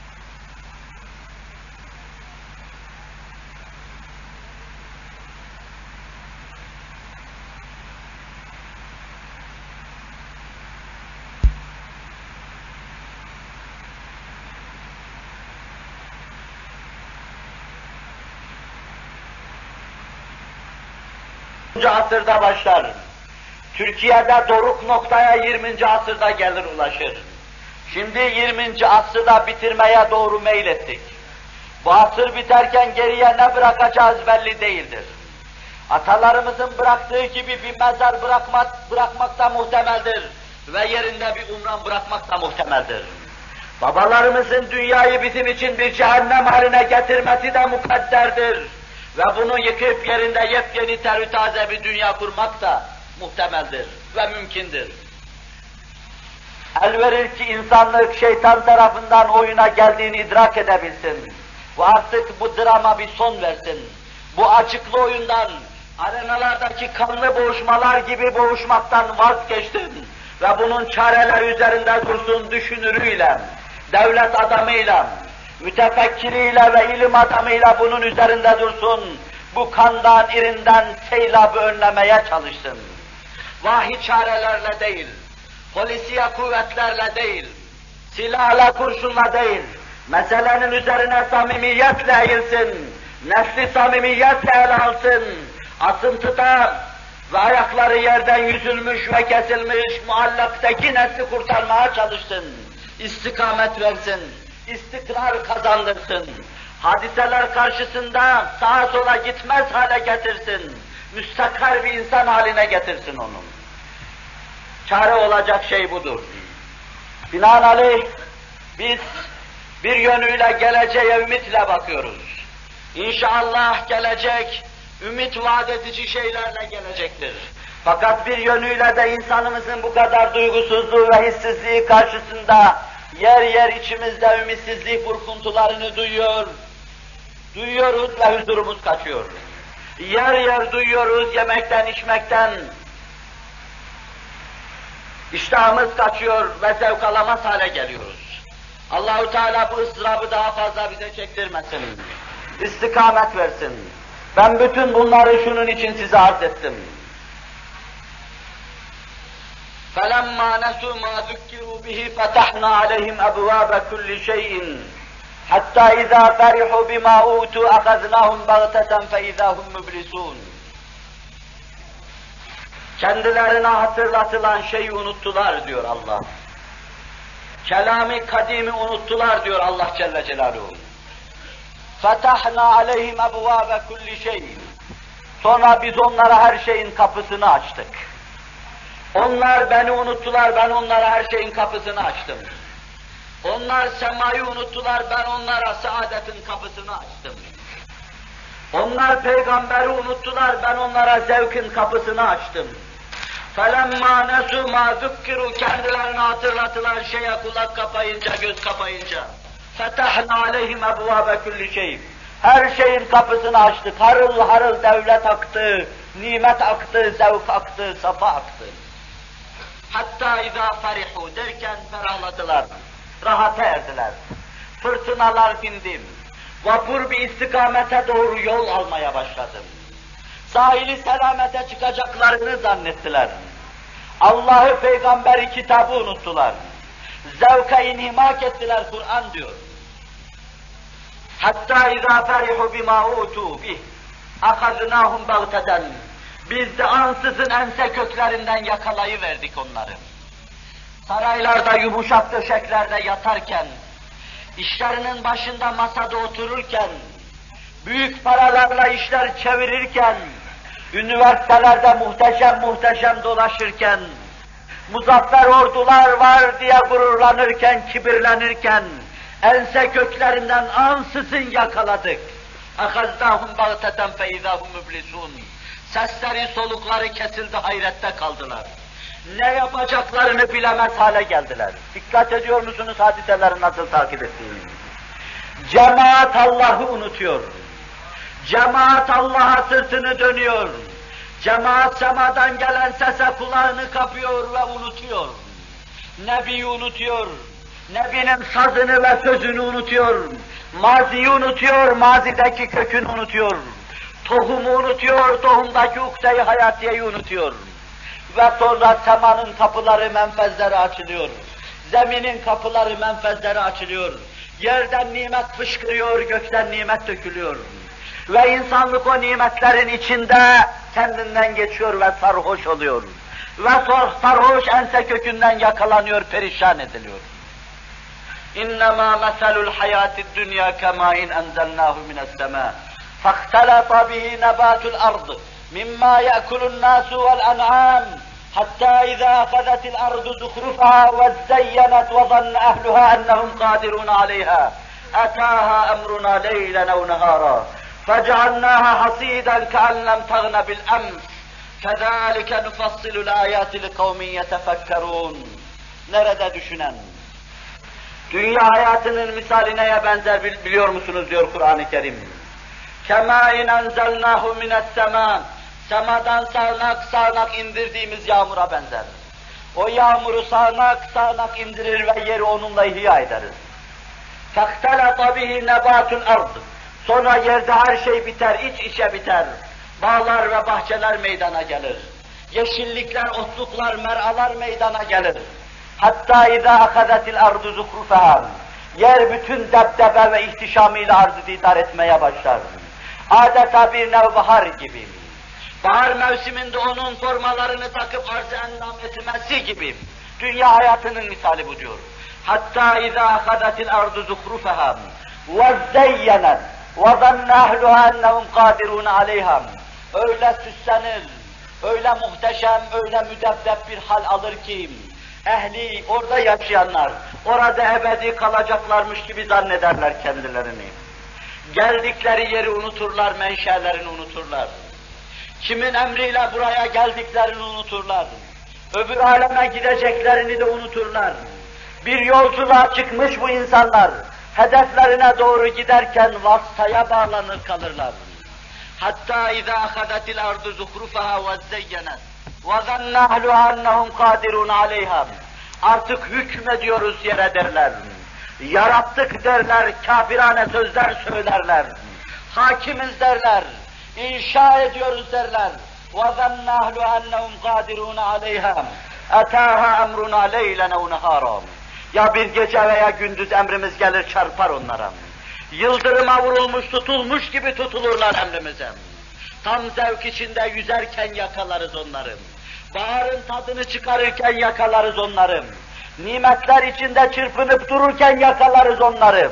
Asırda başlar. Türkiye'de doruk noktaya 20. asırda gelir ulaşır. Şimdi 20. asırda bitirmeye doğru meylettik. Bu asır biterken geriye ne bırakacağız belli değildir. Atalarımızın bıraktığı gibi bir mezar bırakmak da muhtemeldir ve yerinde bir umran bırakmak da muhtemeldir. Babalarımızın dünyayı bizim için bir cehennem haline getirmesi de mukadderdir. Ve bunu yıkıp yerinde yepyeni terü taze bir dünya kurmak da muhtemeldir ve mümkündür. El verir ki insanlık şeytan tarafından oyuna geldiğini idrak edebilsin. Ve artık bu drama bir son versin. Bu açıklı oyundan, arenalardaki kanlı boğuşmalar gibi boğuşmaktan vazgeçtin. Ve bunun çareleri üzerinde dursun düşünürüyle, devlet adamıyla, mütefekkiriyle ve ilim adamıyla bunun üzerinde dursun. Bu kandan, irinden seylabı önlemeye çalışsın. Vahiy çarelerle değil, polisiye kuvvetlerle değil, silahla, kurşunla değil, meselenin üzerine samimiyetle eğilsin, nefsi samimiyetle ele alsın, asıntıda ve ayakları yerden yüzülmüş ve kesilmiş muallaktaki nesli kurtarmaya çalışsın, istikamet versin, istikrar kazandırsın, hadiseler karşısında sağa sola gitmez hale getirsin, müstakar bir insan haline getirsin onu. Çare olacak şey budur. Binaenaleyh biz bir yönüyle geleceğe ümitle bakıyoruz. İnşallah gelecek, ümit vaat edici şeylerle gelecektir. Fakat bir yönüyle de insanımızın bu kadar duygusuzluğu ve hissizliği karşısında yer yer içimizde ümitsizlik burkuntularını duyuyoruz ve huzurumuz kaçıyor. Yer yer duyuyoruz yemekten, içmekten, İştahımız kaçıyor ve zevk alamaz hale geliyoruz. Allahu Teala bu ıstırabı daha fazla bize çektirmesin. İstikamet versin. Ben bütün bunları şunun için size arz ettim. فَلَمَّا نَسُوا مَا ذُكِّرُوا بِهِ فَتَحْنَا عَلَيْهِمْ أَبْوَابَ كُلِّ شَيْءٍ حَتَّى إِذَا فَرِحُوا بِمَا أُوتُوا أَخَذْنَاهُمْ بَغْتَةً فَإِذَا هُمْ مُبْلِسُونَ. Kendilerine hatırlatılan şeyi unuttular diyor Allah. Kelami kadimi unuttular diyor Allah Celle Celaluhu. فَتَحْنَا عَلَيْهِمْ أَبْوَابَ كُلِّ شَيْءٍ. Sonra biz onlara her şeyin kapısını açtık. Onlar beni unuttular, ben onlara her şeyin kapısını açtım. Onlar semayı unuttular, ben onlara saadetin kapısını açtım. Onlar peygamberi unuttular, ben onlara zevkin kapısını açtım. فَلَمَّا نَسُوا مَا ذُكِّرُوا. Kendilerine hatırlatılan şeye kulak kapayınca, göz kapayınca فَتَحْنَا عَلَيْهِمْ أَبْوَابَ كُلِّ شَيْءٍ. Her şeyin kapısını açtık, harıl harıl devlet aktı, nimet aktı, zevk aktı, safa aktı. Hatta izâ farihu derken ferahladılar, rahata erdiler. Fırtınalar dindim, vapur bir istikamete doğru yol almaya başladım. Sahili selamete çıkacaklarını zannettiler. Allah'ı, peygamberi, kitabı unuttular. Zevka inhimak ettiler, Kur'an diyor. Hatta izâ ferihu bimâ utû bih, ahaznâhum bagteten. Biz de ansızın ense köklerinden yakalayıverdik onları. Saraylarda, yumuşak döşeklerde yatarken, işlerinin başında masada otururken, büyük paralarla işler çevirirken, üniversitelerde muhteşem muhteşem dolaşırken, muzaffer ordular var diye gururlanırken, kibirlenirken, ense köklerinden ansızın yakaladık. اَخَزْنَاهُمْ بَغْتَةً فَاِذَا هُمْ مُبْلِسُونَ. Sesleri, solukları kesildi, hayrette kaldılar. Ne yapacaklarını bilemez hale geldiler. Dikkat ediyor musunuz hadiseleri nasıl takip ettiğini? Cemaat Allah'ı unutuyor. Cemaat Allah'a sırtını dönüyor. Cemaat semadan gelen sese kulağını kapıyor ve unutuyor. Nebi'yi unutuyor. Nebi'nin sazını ve sözünü unutuyor. Maziyi unutuyor, mazideki kökünü unutuyor. Tohumu unutuyor, tohumdaki ukde-i hayatiyeyi unutuyor. Ve sonra semanın kapıları, menfezleri açılıyor. Zeminin kapıları, menfezleri açılıyor. Yerden nimet fışkırıyor, gökten nimet dökülüyor. Ve insanlık o nimetlerin içinde kendinden geçiyor ve sarhoş oluyor. Ve sarhoş ense kökünden yakalanıyor, perişan ediliyor. İnnemâ meselul hayâtid dünya kemâin enzelnâhu mine's-semâ. فاختلط به نبات الأرض مما يأكل الناس والأنعام حتى إذا أخذت الأرض زخرفها وزينت وظن أهلها أنهم قادرون عليها أتاها أمرنا ليلا أو نهارا فجعلناها حصيدا كأن لم تغن بالأمس كذلك نفصل الآيات لقوم يتفكرون. Nerede düşünen? Dünya hayatının misali neye benzer biliyor musunuz diyor Kur'an-ı Kerim. كَمَاِنْ اَنْزَلْنَاهُ مِنَ السَّمَاءِ. Semadan sağanak sağanak indirdiğimiz yağmura benzer. O yağmuru sağanak sağanak indirir ve yeri onunla ihya ederiz. فَاخْتَلَطَ بِهِ نَبَاتُ الْأَرْضِ. Sonra yerde her şey biter, iç içe biter. Bağlar ve bahçeler meydana gelir. Yeşillikler, otluklar, meralar meydana gelir. Hatta اِذَا اَخَذَتِ الْأَرْضُ زُخْرُفَهَا. Yer bütün debdebe ve ihtişamıyla arz-ı didar etmeye başlar. Adeta bir nevbahar gibi. Bahar mevsiminde onun formalarını takıp arz-ı endam etmesi gibi. Dünya hayatının misali bu diyor. Hatta اِذَا اَخَذَتِ الْأَرْضُ زُخْرُفَهَا وَزَّيَّنَتْ وَظَنَّ أَهْلُهَا أَنَّهُمْ قَادِرُونَ عَلَيْهَا. Öyle süslenir, öyle muhteşem, öyle müdebbep bir hal alır ki, ehli, orada yaşayanlar, orada ebedi kalacaklarmış gibi zannederler kendilerini. Geldikleri yeri unuturlar, menşelerini unuturlar. Kimin emriyle buraya geldiklerini unuturlar. Öbür aleme gideceklerini de unuturlar. Bir yolculuğa çıkmış bu insanlar, hedeflerine doğru giderken vasıtaya bağlanır kalırlar. Hatta اِذَا اَخَذَتِ الْأَرْضُ زُخْرُفَهَا وَزَّيَّنَتْ وَظَنَّ أَهْلُهَا أَنَّهُمْ قَادِرُونَ عَلَيْهَا. Artık hükmediyoruz yere derler. Yarattık derler, kafirane sözler söylerler. Hakimiz derler, inşa ediyoruz derler. وَظَنَّ أَهْلُهَا أَنَّهُمْ قَادِرُونَ عَلَيْهَا. اَتَاهَا اَمْرُنَا لَيْلًا اَوْ نَهَارًا. Ya bir gece veya gündüz emrimiz gelir çarpar onlara. Yıldırıma vurulmuş, tutulmuş gibi tutulurlar emrimize. Tam zevk içinde yüzerken yakalarız onları. Baharın tadını çıkarırken yakalarız onları. Nimetler içinde çırpınıp dururken yakalarız onları.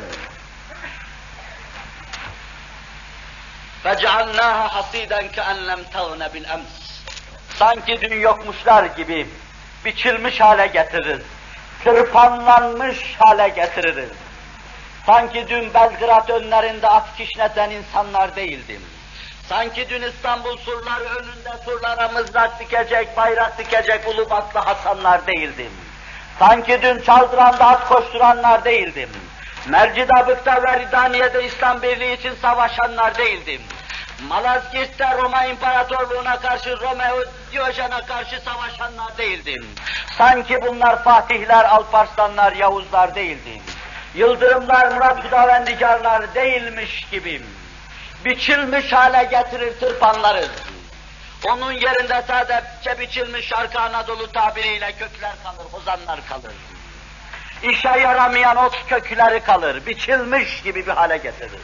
فَجَعَلْنَاهَا حَصِيدًا كَأَنْ لَمْ تَغْنَ بِالْأَمْسِ. Sanki dün yokmuşlar gibi biçilmiş hale getiririz. Tırpanlanmış hale getiririz. Sanki dün Belgrad önlerinde at kişneten insanlar değildim. Sanki dün İstanbul surları önünde surlara mızrak dikecek, bayrak dikecek Ulubatlı Hasanlar değildim. Sanki dün Çaldıran'da at koşturanlar değildim. Mercidabık'ta ve Ridaniye'de İslam Birliği için savaşanlar değildim. Malazgirt'te Roma İmparatorluğu'na karşı Romeo Diyojen'e karşı savaşanlar değildim. Sanki bunlar Fatihler, Alparslanlar, Yavuzlar değildim. Yıldırımlar, Murat Hudavendigarlar değilmiş gibiyim. Biçilmiş hale getirir tırpanlarız. Onun yerinde sadece biçilmiş Şarkı Anadolu tabiriyle kökler kalır, hozanlar kalır. İşe yaramayan ot kökleri kalır, biçilmiş gibi bir hale getirir.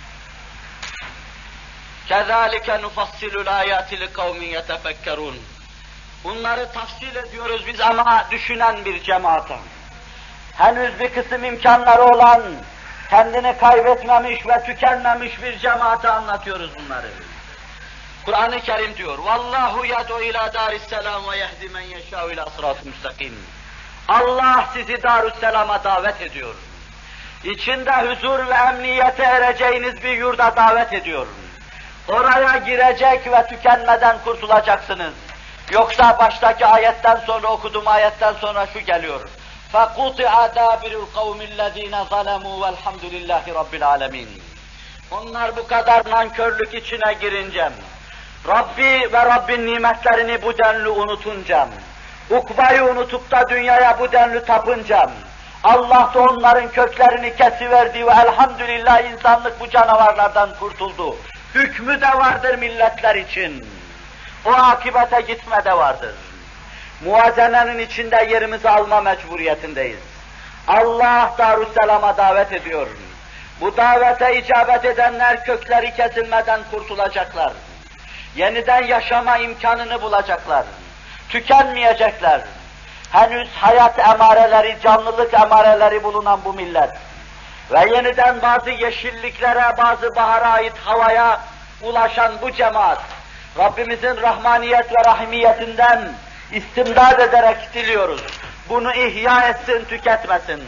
كَذَٰلِكَ نُفَصِّلُ الْآيَاتِ لِقَوْمٍ يَتَفَكَّرُونَ. Bunları tafsil ediyoruz biz ama düşünen bir cemaate. Henüz bir kısım imkanları olan, kendini kaybetmemiş ve tükenmemiş bir cemaate anlatıyoruz bunları. Kur'an-ı Kerim diyor, وَاللّٰهُ يَدْعُ اِلٰى دَارِ السَّلَامِ وَيَهْدِ مَنْ يَشَاءُ اِلٰى صِرَاطٍ مُسْتَقِيمٍ. Allah sizi Darüsselam'a davet ediyor. İçinde huzur ve emniyete ereceğiniz bir yurda davet ediyor. Oraya girecek ve tükenmeden kurtulacaksınız. Yoksa baştaki ayetten sonra okuduğum ayetten sonra şu geliyor. فَقُطِعَ دَابِرُ الْقَوْمِ الَّذ۪ينَ ظَلَمُوا وَالْحَمْدُ لِلّٰهِ رَبِّ الْعَالَمِينَ. Onlar bu kadar nankörlük içine girince, Rabbi ve Rabbin nimetlerini bu denli unutunca, ukbayı unutup da dünyaya bu denli tapınca, Allah da onların köklerini kesiverdi ve elhamdülillah insanlık bu canavarlardan kurtuldu. Hükmü de vardır milletler için. O akibete gitme de vardır. Muvazenenin içinde yerimizi alma mecburiyetindeyiz. Allah Darüsselam'a davet ediyor. Bu davete icabet edenler kökleri kesilmeden kurtulacaklar. Yeniden yaşama imkanını bulacaklar. Tükenmeyecekler. Henüz hayat emareleri, canlılık emareleri bulunan bu millet ve yeniden bazı yeşilliklere, bazı bahara ait havaya ulaşan bu cemaat, Rabbimizin rahmaniyet ve rahimiyetinden istimdad ederek diliyoruz. Bunu ihya etsin, tüketmesin.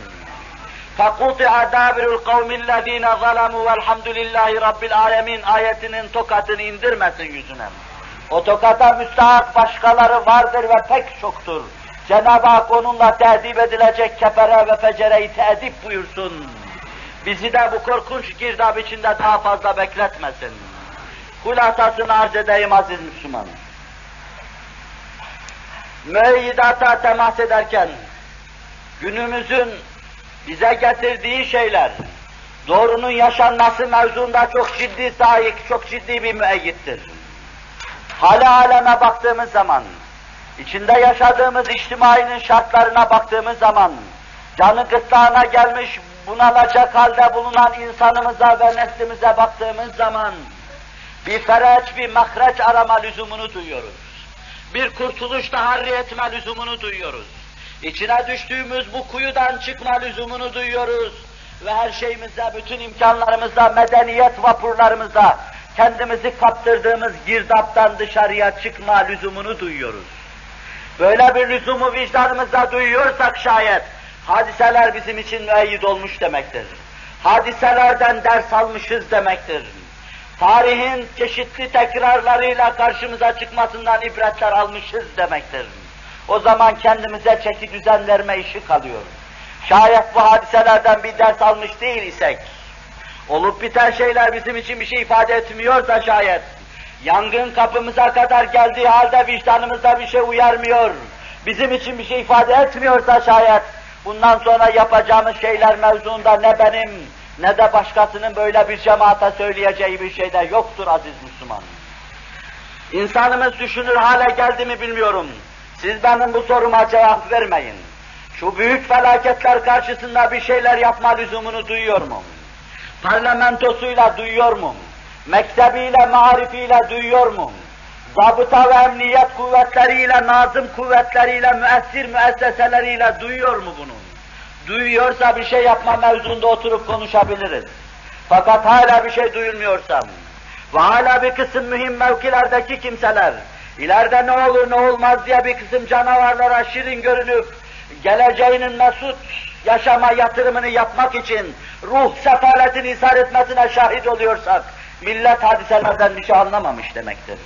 فَقُطِعَ دَابِرُ الْقَوْمِ الَّذ۪ينَ ظَلَمُوا وَالْحَمْدُ لِلّٰهِ رَبِّ الْعَالَمِينَ ayetinin tokatını indirmesin yüzüne. O tokata müstahak başkaları vardır ve pek çoktur. Cenab-ı Hak onunla teedip edilecek kefere ve fecereyi teedip buyursun. Bizi de bu korkunç girdap içinde daha fazla bekletmesin. Hulasasını arz edeyim aziz Müslüman. Müeyyidata temas ederken, günümüzün bize getirdiği şeyler, doğrunun yaşanması mevzuunda çok ciddi sahip, çok ciddi bir müeyyittir. Hâle aleme baktığımız zaman, içinde yaşadığımız içtimainin şartlarına baktığımız zaman, canı gırtlağına gelmiş, bunalacak halde bulunan insanımıza ve neslimize baktığımız zaman, bir fereç, bir mahreç arama lüzumunu duyuyoruz. Bir kurtuluş taharri etme lüzumunu duyuyoruz. İçine düştüğümüz bu kuyudan çıkma lüzumunu duyuyoruz. Ve her şeyimizde, bütün imkanlarımızda, medeniyet vapurlarımızda, kendimizi kaptırdığımız girdaptan dışarıya çıkma lüzumunu duyuyoruz. Böyle bir lüzumu vicdanımızda duyuyorsak şayet, hadiseler bizim için müeyyid olmuş demektir. Hadiselerden ders almışız demektir. Tarihin çeşitli tekrarlarıyla karşımıza çıkmasından ibretler almışız demektir. O zaman kendimize çeki düzen verme işi kalıyor. Şayet bu hadiselerden bir ders almış değil isek, olup biten şeyler bizim için bir şey ifade etmiyorsa şayet, Yangın kapımıza kadar geldiği halde vicdanımızda bir şey uyarmıyor, bizim için bir şey ifade etmiyorsa şayet, bundan sonra yapacağımız şeyler mevzuunda ne benim, ne de başkasının böyle bir cemaate söyleyeceği bir şey de yoktur aziz Müslüman. İnsanımız düşünür hale geldi mi bilmiyorum. Siz benim bu soruma cevap vermeyin. Şu büyük felaketler karşısında bir şeyler yapma lüzumunu duyuyor mu? Parlamentosuyla duyuyor mu? Mektebiyle, marifiyle duyuyor mu? Zabıta ve emniyet kuvvetleriyle, nazım kuvvetleriyle, müessir müesseseleriyle duyuyor mu bunu? Duyuyorsa bir şey yapma mevzunda oturup konuşabiliriz. Fakat hala bir şey duyulmuyorsam ve hala bir kısım mühim mevkilerdeki kimseler, ileride ne olur ne olmaz diye bir kısım canavarlara şirin görünüp, geleceğinin mesut yaşama yatırımını yapmak için ruh sefaletini ishar etmesine şahit oluyorsak, millet hadiselerden bir şey anlamamış demektir.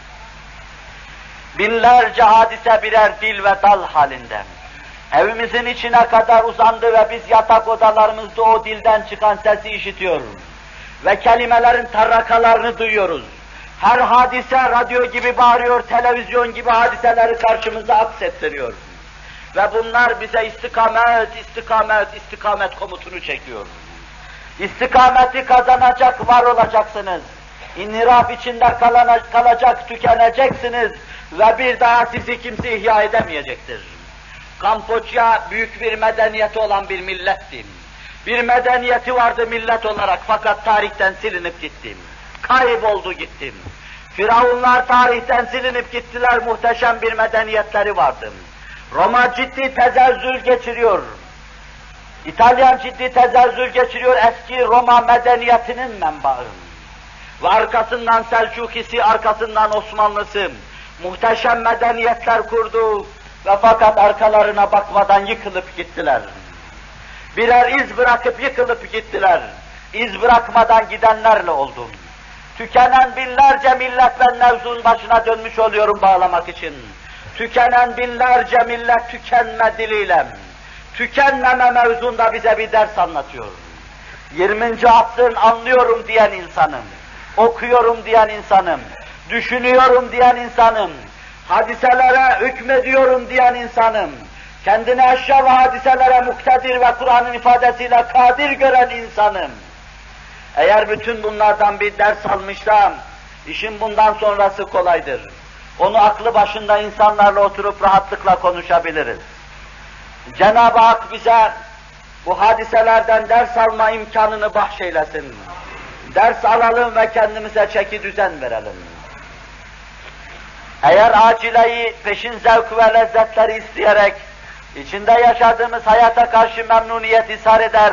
Binlerce hadise birer dil ve dal halinde. Evimizin içine kadar uzandı ve biz yatak odalarımızda o dilden çıkan sesi işitiyoruz. Ve kelimelerin tarrakalarını duyuyoruz. Her hadise radyo gibi bağırıyor, televizyon gibi hadiseleri karşımıza aksettiriyor. Ve bunlar bize istikamet, istikamet, istikamet komutunu çekiyor. İstikameti kazanacak, var olacaksınız. İnhiraf içinde kalacak, tükeneceksiniz ve bir daha sizi kimse ihya edemeyecektir. Kamboçya büyük bir medeniyeti olan bir milletti. Bir medeniyeti vardı millet olarak fakat tarihten silinip gittim. Kayboldu gittim. Firavunlar tarihten silinip gittiler, muhteşem bir medeniyetleri vardı. Roma ciddi tezelzül geçiriyor. İtalyan ciddi tezelzül geçiriyor, eski Roma medeniyetinin menbaı. Ve arkasından Selçukisi, arkasından Osmanlısı muhteşem medeniyetler kurdu ve fakat arkalarına bakmadan yıkılıp gittiler. Birer iz bırakıp yıkılıp gittiler. İz bırakmadan gidenlerle oldum. Tükenen binlerce millet, ben mevzunun başına dönmüş oluyorum bağlamak için. Tükenen binlerce millet tükenme diliyle, tükenmeme mevzunda bize bir ders anlatıyor. 20. asrın anlıyorum diyen insanım, okuyorum diyen insanım, düşünüyorum diyen insanım, hadiselere hükmediyorum diyen insanım, kendini eşya ve hadiselere muktedir ve Kur'an'ın ifadesiyle kadir gören insanım. Eğer bütün bunlardan bir ders almışsam, işin bundan sonrası kolaydır. Onu aklı başında insanlarla oturup rahatlıkla konuşabiliriz. Cenab-ı Hak bize bu hadiselerden ders alma imkanını bahşeylesin. Ders alalım ve kendimize çeki düzen verelim. Eğer acileyi, peşin zevk ve lezzetleri isteyerek, içinde yaşadığımız hayata karşı memnuniyet ishar eder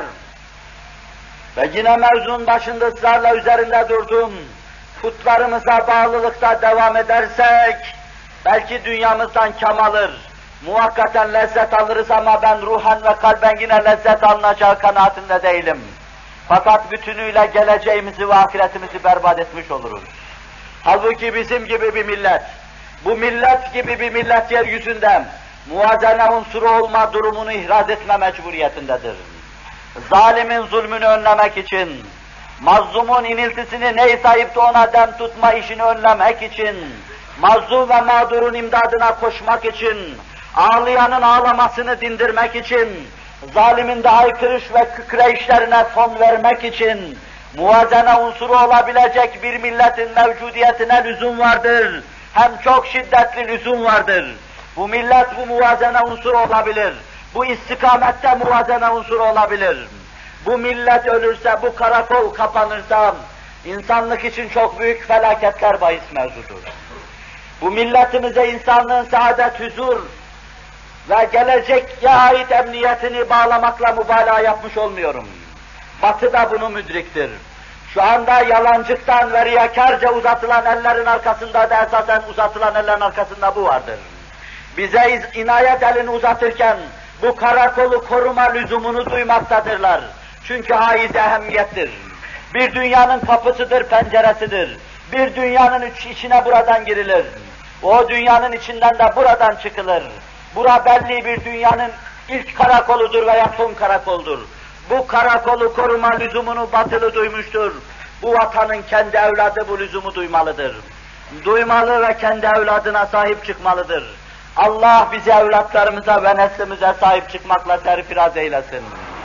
ve yine mevzunun başında ısrarla üzerinde durdum, putlarımıza bağlılıkta devam edersek, belki dünyamızdan kam alır, muhakkaten lezzet alırız ama ben ruhen ve kalben yine lezzet alınacağı kanaatinde değilim. Fakat bütünüyle geleceğimizi ve ahiretimizi berbat etmiş oluruz. Halbuki bizim gibi bir millet, bu millet gibi bir millet yeryüzünde muvazene unsuru olma durumunu ihraz etme mecburiyetindedir. Zalimin zulmünü önlemek için, mazlumun iniltisini neyse ayıp da ona dem tutma işini önlemek için, mazlum ve mağdurun imdadına koşmak için, ağlayanın ağlamasını dindirmek için, zalimin de haykırış ve kükreyişlerine son vermek için, muvazene unsuru olabilecek bir milletin mevcudiyetine lüzum vardır. Hem çok şiddetli lüzum vardır. Bu millet bu muvazene unsuru olabilir. Bu istikamette muvazene unsuru olabilir. Bu millet ölürse, bu karakol kapanırsa, insanlık için çok büyük felaketler bahis mevzudur. Bu milletimize insanlığın saadet, huzur ve geleceğe ait emniyetini bağlamakla mübalağa yapmış olmuyorum. Batı da bunu müdriktir. Şu anda yalancıktan ve riyakarca uzatılan ellerin arkasında da esasen uzatılan ellerin arkasında bu vardır. Bize inayet elini uzatırken bu karakolu koruma lüzumunu duymaktadırlar. Çünkü haiz ehemmiyettir. Bir dünyanın kapısıdır, penceresidir. Bir dünyanın içine buradan girilir. O dünyanın içinden de buradan çıkılır. Bura belli bir dünyanın ilk karakoludur veya son karakoldur. Bu karakolu koruma lüzumunu batılı duymuştur. Bu vatanın kendi evladı bu lüzumu duymalıdır. duymalı ve kendi evladına sahip çıkmalıdır. Allah bizi evlatlarımıza ve neslimize sahip çıkmakla serfiraz eylesin.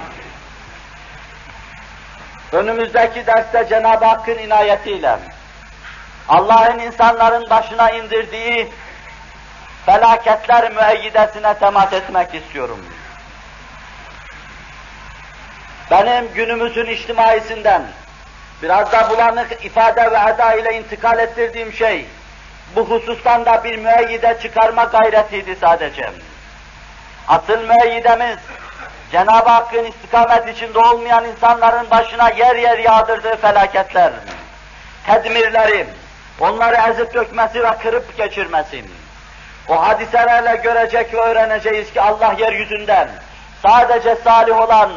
Önümüzdeki derste Cenab-ı Hakk'ın inayetiyle Allah'ın insanların başına indirdiği felaketler müeyyidesine temas etmek istiyorum. Benim günümüzün içtimaisinden biraz da bulanık ifade ve eda ile intikal ettirdiğim şey, bu husustan da bir müeyyide çıkarma gayretiydi sadece. Asıl müeyyidemiz, Cenab-ı Hakk'ın istikamet içinde olmayan insanların başına yer yer yağdırdığı felaketler, tedmirleri, onları ezip dökmesi ve kırıp geçirmesi. O hadiselerle görecek ve öğreneceğiz ki Allah yeryüzünden sadece salih olan,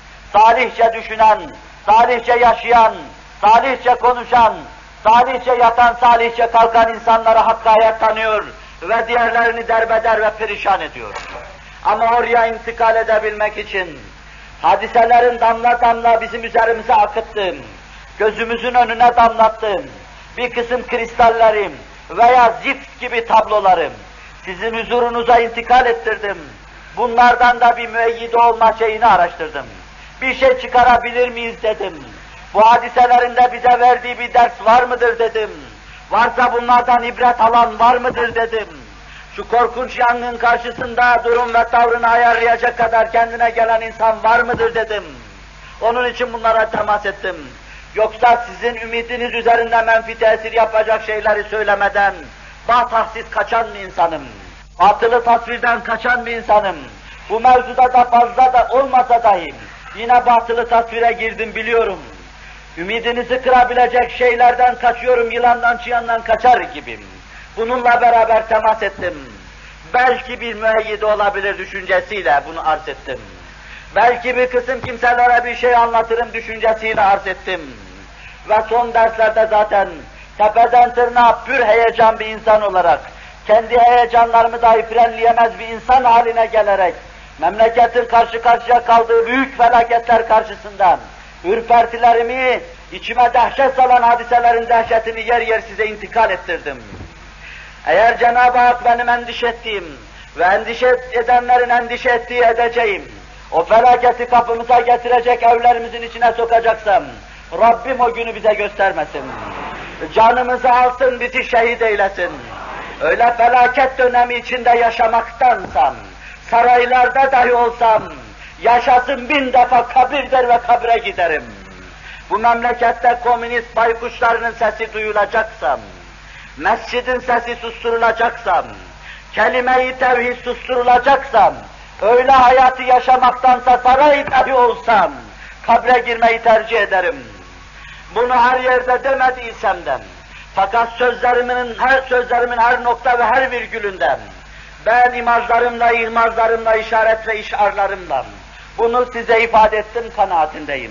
salihçe düşünen, salihçe yaşayan, salihçe konuşan, salihçe yatan, salihçe kalkan insanlara hakkı hayat tanıyor ve diğerlerini derbeder ve perişan ediyor. Ama oraya intikal edebilmek için hadiselerin damla damla bizim üzerimize akıttığım, gözümüzün önüne damlattığım bir kısım kristallerim veya zift gibi tablolarım sizin huzurunuza intikal ettirdim. Bunlardan da bir müeyyide olma şeyini araştırdım. Bir şey çıkarabilir miyiz dedim. Bu hadiselerinde bize verdiği bir ders var mıdır dedim. Varsa bunlardan ibret alan var mıdır dedim. Şu korkunç yangın karşısında durum ve tavrını ayarlayacak kadar kendine gelen insan var mıdır dedim. Onun için bunlara temas ettim. Yoksa sizin ümidiniz üzerinde menfi tesir yapacak şeyleri söylemeden batahsiz kaçan bir insanım. Batılı tasvirden kaçan bir insanım. Bu mevzuda da fazla da olmasa dahi yine batılı tasvire girdim biliyorum. Ümidinizi kırabilecek şeylerden kaçıyorum, yılandan çıyandan kaçar gibiyim. Bununla beraber temas ettim. Belki bir müeyyide olabilir düşüncesiyle bunu arz ettim. Belki bir kısım kimselere bir şey anlatırım düşüncesiyle arz ettim. Ve son derslerde zaten tepeden tırnağa pür heyecan bir insan olarak, kendi heyecanlarımı dahi frenleyemez bir insan haline gelerek, memleketin karşı karşıya kaldığı büyük felaketler karşısında ürpertilerimi, içime dehşet salan hadiselerin dehşetini yer yer size intikal ettirdim. Eğer Cenab-ı Hak benim endişe ettiğim ve endişe edenlerin endişe ettiği edeceğim, o felaketi kapımıza getirecek evlerimizin içine sokacaksam, Rabbim o günü bize göstermesin. Canımızı alsın, bizi şehit eylesin. Öyle felaket dönemi içinde yaşamaktansam, saraylarda dahi olsam, yaşasın 1000 defa kabir der ve kabre giderim. Bu memlekette komünist baykuşlarının sesi duyulacaksam, mescidin sesi susturulacaksam, kelime-i tevhid susturulacaksam, öyle hayatı yaşamaktansa saray dahi olsam, kabre girmeyi tercih ederim. Bunu her yerde demediysem de, fakat sözlerimin her nokta ve her virgülünden, ben imajlarımla, ihmazlarımla, işaret ve işarlarımla bunu size ifade ettim kanaatindeyim.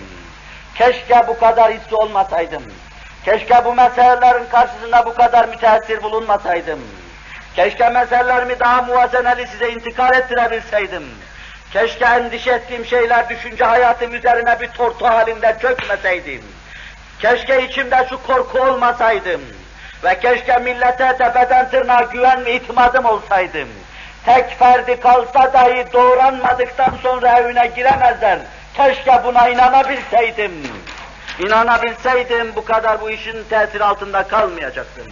Keşke bu kadar hissi olmasaydım. Keşke bu meselelerin karşısında bu kadar müteessir bulunmasaydım. Keşke meselelerimi daha muvazeneli size intikal ettirebilseydim. Keşke endişe ettiğim şeyler düşünce hayatım üzerine bir tortu halinde çökmeseydim. Keşke içimde şu korku olmasaydım. Ve keşke millete tepeden tırnağa güven ve itimadım olsaydım. Tek ferdi kalsa dahi doğranmadıktan sonra evine giremezler. Keşke buna inanabilseydim. İnanabilseydim bu kadar bu işin tesiri altında kalmayacaktım.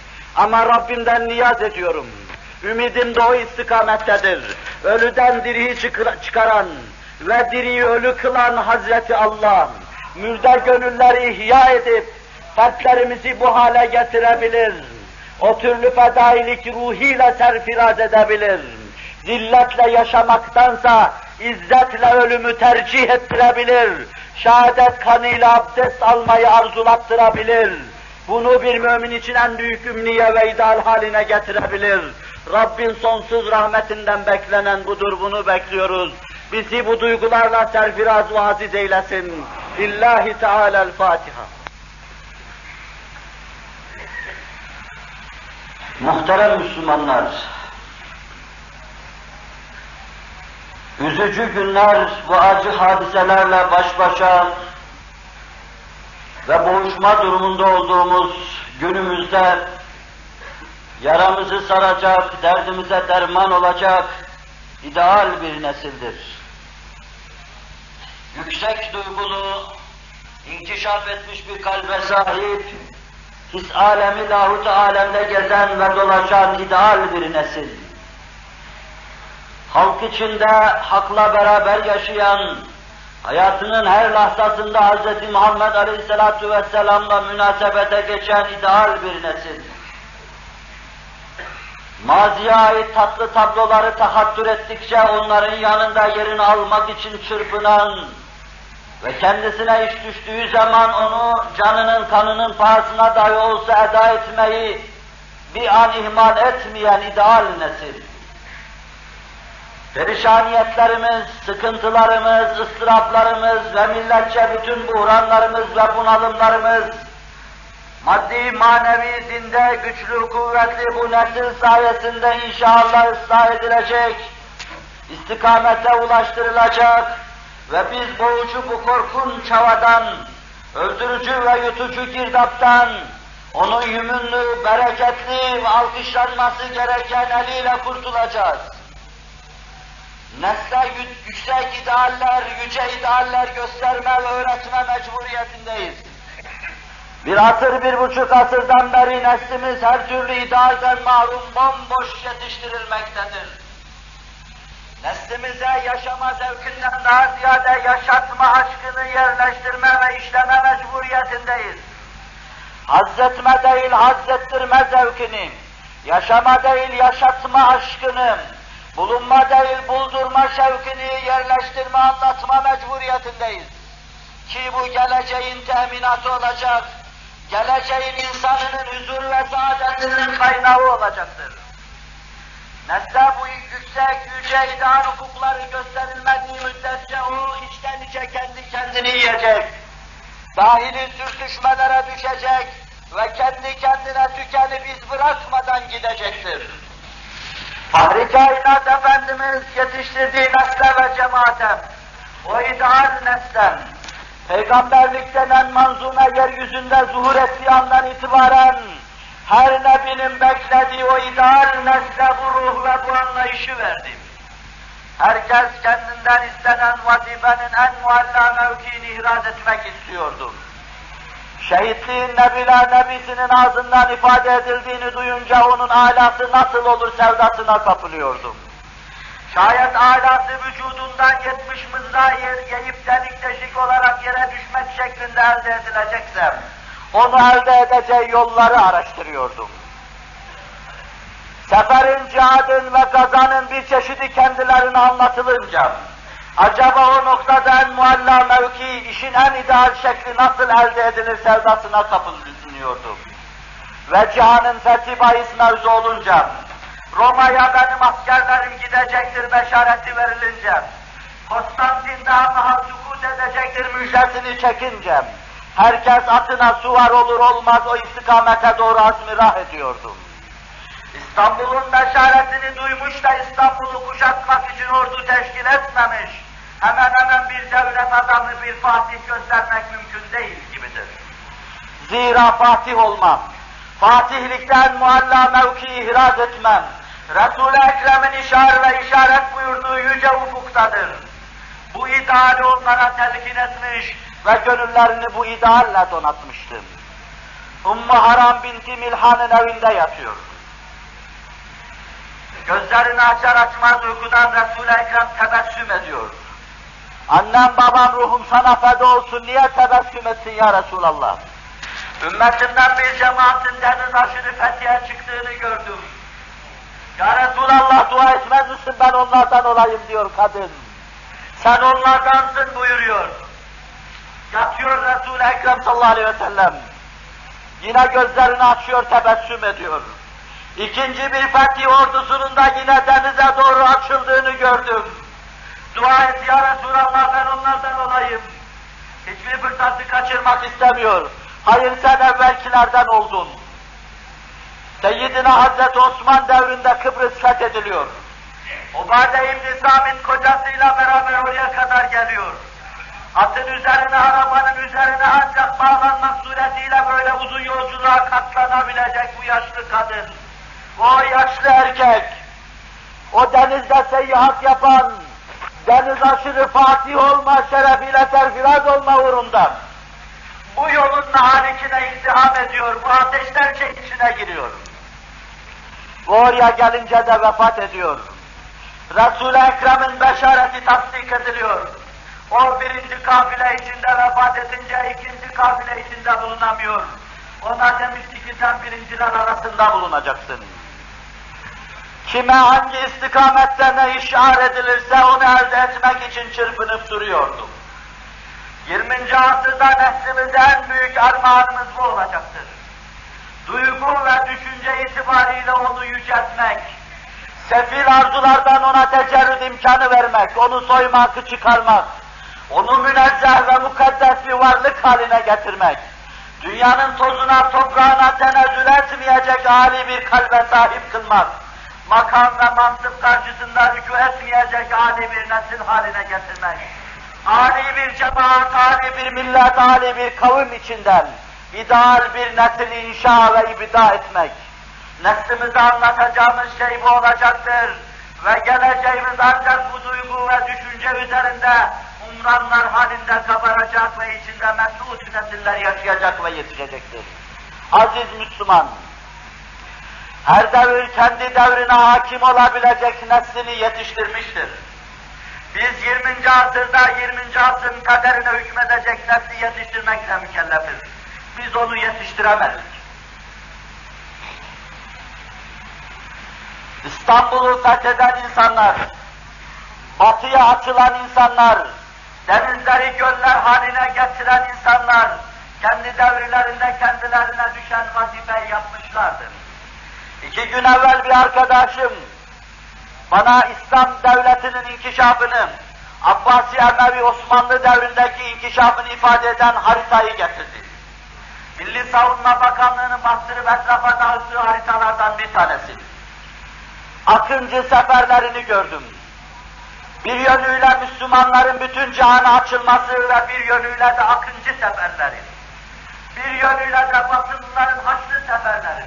Ama Rabbimden niyaz ediyorum. Ümidim de o istikamettedir. Ölüden diriyi çıkaran ve diriyi ölü kılan Hazreti Allah, mürde gönülleri ihya edip, fertlerimizi bu hale getirebilir. O türlü fedailik ruhiyle serfiraz edebilir. Zilletle yaşamaktansa izzetle ölümü tercih ettirebilir. Şehadet kanıyla abdest almayı arzulattırabilir. Bunu bir mümin için en büyük ümniye ve ideal haline getirebilir. Rabbin sonsuz rahmetinden beklenen budur, bunu bekliyoruz. Bizi bu duygularla serfiraz ve aziz eylesin. Lillahi Teala'l-Fatiha. Muhterem Müslümanlar, üzücü günler bu acı hadiselerle baş başa ve boğuşma durumunda olduğumuz günümüzde yaramızı saracak, derdimize derman olacak ideal bir nesildir. Yüksek duygulu, inkişaf etmiş bir kalbe sahip, his alemi, lahut alemde gezen ve dolaşan ideal bir nesil. Halk içinde hakla beraber yaşayan, hayatının her lahzasında Hz. Muhammed Aleyhisselatü Vesselam'la münasebete geçen ideal bir nesil. Maziye ait tatlı tabloları tahattür ettikçe onların yanında yerini almak için çırpınan ve kendisine iş düştüğü zaman onu canının kanının pahasına dahi olsa eda etmeyi bir an ihmal etmeyen ideal nesil. Perişaniyetlerimiz, sıkıntılarımız, ıstıraplarımız ve milletçe bütün buhranlarımız ve bunalımlarımız, maddi, manevi, zinde, güçlü, kuvvetli bu nesil sayesinde inşallah ıslah edilecek, istikamete ulaştırılacak ve biz boğucu bu korkunç havadan, öldürücü ve yutucu girdaptan, onun yümünlü, bereketli ve alkışlanması gereken eliyle kurtulacağız. Nesle yüksek idealler, yüce idealler gösterme ve öğretme mecburiyetindeyiz. Bir asır, 1,5 asırdan beri neslimiz her türlü idealden mahrum, bomboş yetiştirilmektedir. Neslimize yaşama zevkinden daha ziyade yaşatma aşkını yerleştirme ve işleme mecburiyetindeyiz. Hazzetme değil, hazzettirme zevkini, yaşama değil, yaşatma aşkını, bulunma değil, buldurma şevkini yerleştirme, anlatma mecburiyetindeyiz. Ki bu geleceğin teminatı olacak, geleceğin insanının huzur ve saadetinin kaynağı olacaktır. Nesle bu yüksek, yüce ideal hukukları gösterilmediği müddetçe o içten içe kendi kendini yiyecek, dahili sürtüşmelere düşecek ve kendi kendine tükenip iz bırakmadan gidecektir. Fahri Kainat Efendimiz yetiştirdiği nesle ve cemaate, o ideal neslen, peygamberlik denen manzuma yeryüzünde zuhur ettiği andan itibaren, her nebinin beklediği o ideal nesle bu ruh ve bu anlayışı verdi. Herkes kendinden istenen vazifenin en mualla mevkiini ihraz etmek istiyordu. Şehitliğin Nebiler Nebisi'nin ağzından ifade edildiğini duyunca onun alası nasıl olur sevdasına kapılıyordum. Şayet alası vücudundan 70 mızrağı yiyip delik deşik olarak yere düşmek şeklinde elde edilecekse, onu elde edeceği yolları araştırıyordum. Seferin, cihadın ve gazanın bir çeşidi kendilerine anlatılınca, acaba o noktada en mualla mevki, işin en ideal şekli nasıl elde edilir sevdasına kapılıyordum. Ve cihanın fethi bahis mevzu olunca, Roma'ya benim askerlerim gidecektir beşareti verilince, Konstantin'de mahal sukut edecektir müjdesini çekince, herkes atına suvar olur olmaz o istikamete doğru azmirah ediyordum. İstanbul'un beşaretini duymuş da İstanbul'u kuşatmak için ordu teşkil etmemiş, hemen hemen bir devlet adamı, bir fatih göstermek mümkün değil gibidir. Zira fatih olmam, fatihlikten mualla mevki ihraz etmem, Resul-i Ekrem'in işaret buyurduğu yüce ufuktadır. Bu ideali onlara telkin etmiş ve gönüllerini bu idealle donatmıştım. Ümmü Haram binti Milhan'ın evinde yatıyor. Gözlerini açar açmaz uykudan Resul-i Ekrem tebessüm ediyor. Annem babam ruhum sana feda olsun, niye tebessüm etsin ya Resulallah? Ümmetimden bir cemaatin deniz aşırı fethiye çıktığını gördüm. Ya Resulallah dua etmez misin ben onlardan olayım diyor kadın. Sen onlardansın buyuruyor. Yatıyor Resul-i Ekrem sallallahu aleyhi ve sellem. Yine gözlerini açıyor, tebessüm ediyor. İkinci bir fetih ordusunun da yine denize doğru açıldığını gördüm. Dua et ya Resulallah ben onlardan olayım. Hiçbir fırsatı kaçırmak istemiyor. Hayır sen evvelkilerden oldun. Seyyidina Hazreti Osman devrinde Kıbrıs fethediliyor. Ubade İbn-i Samit kocasıyla beraber oraya kadar geliyor. Atın üzerine, arabanın üzerine ancak bağlanmak suretiyle böyle uzun yolculuğa katlanabilecek bu yaşlı kadın. O yaşlı erkek, o denizde seyahat yapan, deniz aşırı fatih olma şerefiyle serfiraz olma uğrundan, bu yolun halikine izdiham ediyor, bu ateşten içine giriyor. Bu oraya gelince de vefat ediyor. Resul-i Ekrem'in beşareti tasdik ediliyor. O birinci kafile içinde vefat edince ikinci kafile içinde bulunamıyor. Ona demişti ki sen birinciler arasında bulunacaksın. Kime hangi istikamette ne işaret edilirse onu elde etmek için çırpınıp duruyordu. 20. asırda neslimize en büyük armağanımız bu olacaktır. Duygu ve düşünce itibariyle onu yüceltmek, sefil arzulardan ona tecerrüd imkanı vermek, onu soymak, çıkarmak, onu münezzeh ve mukaddes bir varlık haline getirmek, dünyanın tozuna, toprağına tenezzül etmeyecek âli bir kalbe sahip kılmak, makam ve mansıp karşısında rükû etmeyecek âli bir nesil haline getirmek, âli bir cemaat, âli bir millet, âli bir kavim içinden ideal bir nesil inşa ve ibda etmek. Neslimize anlatacağımız şey bu olacaktır ve geleceğimiz ancak bu duygu ve düşünce üzerinde umranlar halinde kabaracak ve içinde mesut nesiller yaşayacak ve yetişecektir. Aziz Müslüman, her devir kendi devrine hakim olabilecek neslini yetiştirmiştir. Biz 20. asırda 20. asrın kaderine hükmedecek nesli yetiştirmekle mükellefiz. Biz onu yetiştiremedik. İstanbul'u fetheden insanlar, batıya açılan insanlar, denizleri göller haline getiren insanlar, kendi devirlerinde kendilerine düşen vazifeyi yapmışlardır. 2 gün evvel bir arkadaşım, bana İslam devletinin inkişafını, Abbasi Emevi Osmanlı devrindeki inkişafını ifade eden haritayı getirdi. Milli Savunma Bakanlığı'nın bastırıp etrafa dağıttığı haritalardan bir tanesi. Akıncı seferlerini gördüm. Bir yönüyle Müslümanların bütün cihana açılması ve bir yönüyle de akıncı seferleri. Bir yönüyle de Batılıların Haçlı seferleri.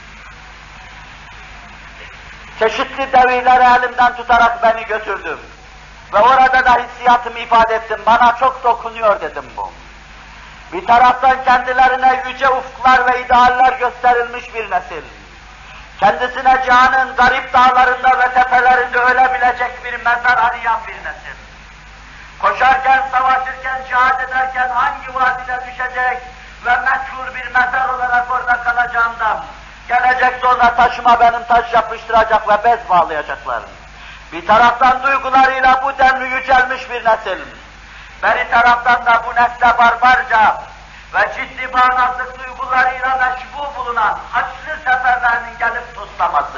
Çeşitli devirleri elimden tutarak beni götürdüm. Ve orada da hissiyatımı ifade ettim. Bana çok dokunuyor dedim bu. Bir taraftan kendilerine yüce ufuklar ve idealler gösterilmiş bir nesil. Kendisine cihanın garip dağlarında ve tepelerinde ölebilecek bir mezar arayan bir nesil. Koşarken, savaşırken, cihad ederken hangi vadide düşecek ve meçhul bir mezar olarak orada kalacağından, gelecek sonra taşıma benim taş yapıştıracak ve bez bağlayacaklar. Bir taraftan duygularıyla bu denli yücelmiş bir nesil. Bir taraftan da bu nesle barbarca ve ciddi bağnazlık duygularıyla meşbu bulunan Haçlı seferlerinin gelip toslaması.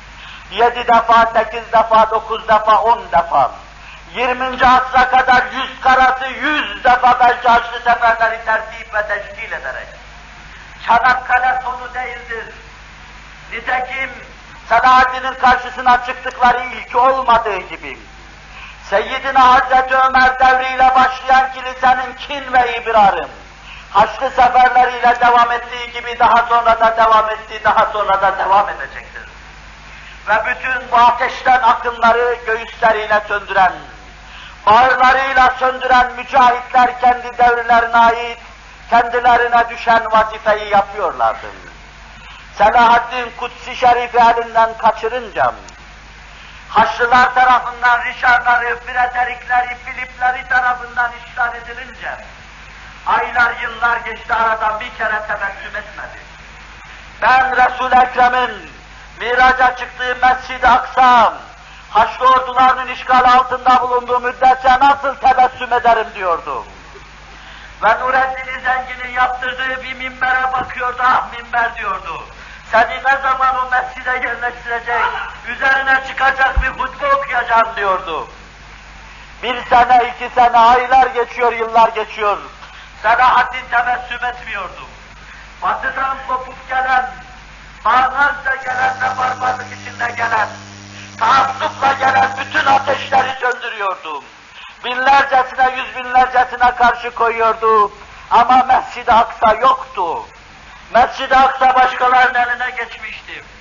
7 defa, 8 defa, 9 defa, 10 defa, 20. asra kadar 100 karası 100 defa belki Haçlı seferleri tertip ve teşkil ederek. Çanakkale sonu değildir. Nitekim Selahaddin'in karşısına çıktıkları ilk olmadığı gibi, Seyyidina Hazreti Ömer devriyle başlayan kilisenin kin ve ibrarı, Haçlı seferleriyle devam ettiği gibi daha sonra da devam etti, daha sonra da devam edecektir. Ve bütün bu ateşten akımları göğüsleriyle söndüren, bağırlarıyla söndüren mücahitler kendi devirlerine ait, kendilerine düşen vazifeyi yapıyorlardı. Selahaddin Kutsi Şerif'i elinden kaçırınca, Haçlılar tarafından Richard'ları, Frederik'leri, Filip'leri tarafından işgal edilince, aylar, yıllar geçti, aradan bir kere tebessüm etmedi. Ben Resul-i Ekrem'in miraca çıktığı Mescid-i Aksa, Haçlı ordularının işgal altında bulunduğu müddetçe nasıl tebessüm ederim diyordu. Ve Nureddin Zengin'in yaptırdığı bir minbere bakıyordu, ah minber diyordu. Seni ne zaman o mescide yerleştirecek, üzerine çıkacak bir hutbe okuyacağım diyordu. 1 sene, 2 sene, aylar geçiyor, yıllar geçiyor. Selahaddin tebessüm etmiyordu. Batıdan kopup gelen, bağnazca gelen ve barbarlık içinde gelen, taassupla gelen bütün ateşleri söndürüyordu. Binlercesine, yüz binlercesine karşı koyuyordu. Ama Mescid-i Aksa yoktu. Mescid-i Aksa başkalarının eline geçmişti.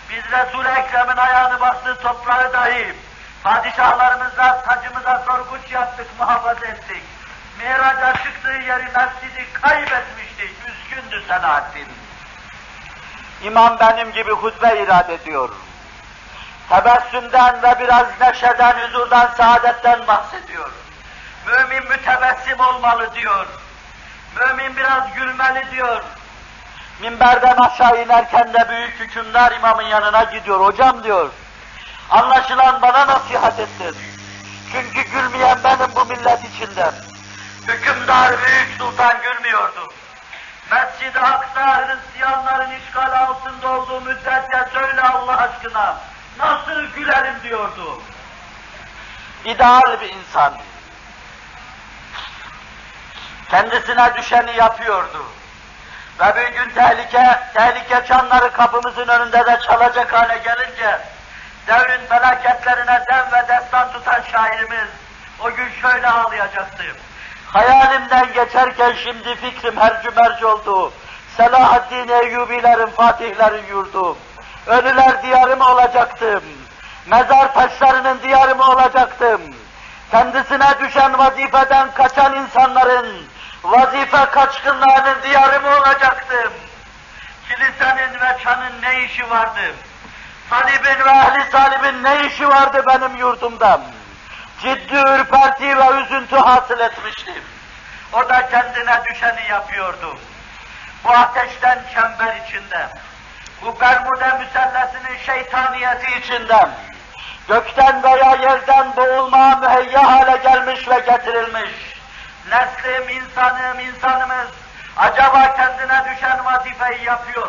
Biz Resul-i Ekrem'in ayağını bastığı toprağı dahi padişahlarımızla, tacımıza sorguç yaptık, muhafaza ettik. Miraca çıktığı yeri, mescidi kaybetmiştik. Üzgündü Selahaddin. İmam benim gibi hutbe irad ediyor. Tebessümden ve biraz neşeden, huzurdan, saadetten bahsediyor. Mümin mütebessim olmalı diyor. Mümin biraz gülmeli diyor. Minberden aşağı inerken de büyük hükümdar imamın yanına gidiyor. Hocam diyor, anlaşılan bana nasihat ettin. Çünkü gülmeyen benim bu millet içinde. Hükümdar büyük sultan gülmüyordu. Mescid-i Aksa Hristiyanların işgal altında olduğu müddetçe söyle Allah aşkına, nasıl gülerim diyordu. İdeal bir insan. Kendisine düşeni yapıyordu. Ve bir gün tehlike çanları kapımızın önünde de çalacak hale gelince, devrin felaketlerine dem ve destan tutan şairimiz, o gün şöyle ağlayacaktı. Hayalimden geçerken şimdi fikrim hercümerc oldu. Selahaddin Eyyubilerin, Fatihlerin yurdu. Ölüler diyarı mı olacaktım? Mezar taşlarının diyarı mı olacaktım? Kendisine düşen vazifeden kaçan insanların, vazife kaçkınlarının diyarı mı olacaktım? Kilisenin ve çanın ne işi vardı? Salibin ve ehli salibin ne işi vardı benim yurdumda? Ciddi ürperti ve üzüntü hasıl etmiştim. O da kendine düşeni yapıyordu. Bu ateşten çember içinde, bu Bermuda müsellesinin şeytaniyeti içinde, gökten veya yerden boğulmaya müheyya hale gelmiş ve getirilmiş. Neslim, insanımız acaba kendine düşen vazifeyi yapıyor.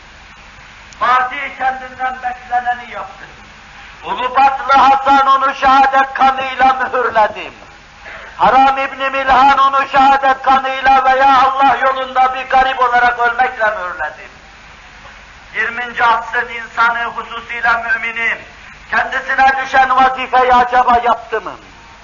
Fatih kendinden bekleneni yaptı. Ulubatlı Hasan onu şehadet kanıyla mühürledi. Haram İbn-i Milhan onu şehadet kanıyla veya Allah yolunda bir garip olarak ölmekle mühürledi. 20. asrın insanı, hususuyla mümini, kendisine düşen vazifeyi acaba yaptı mı?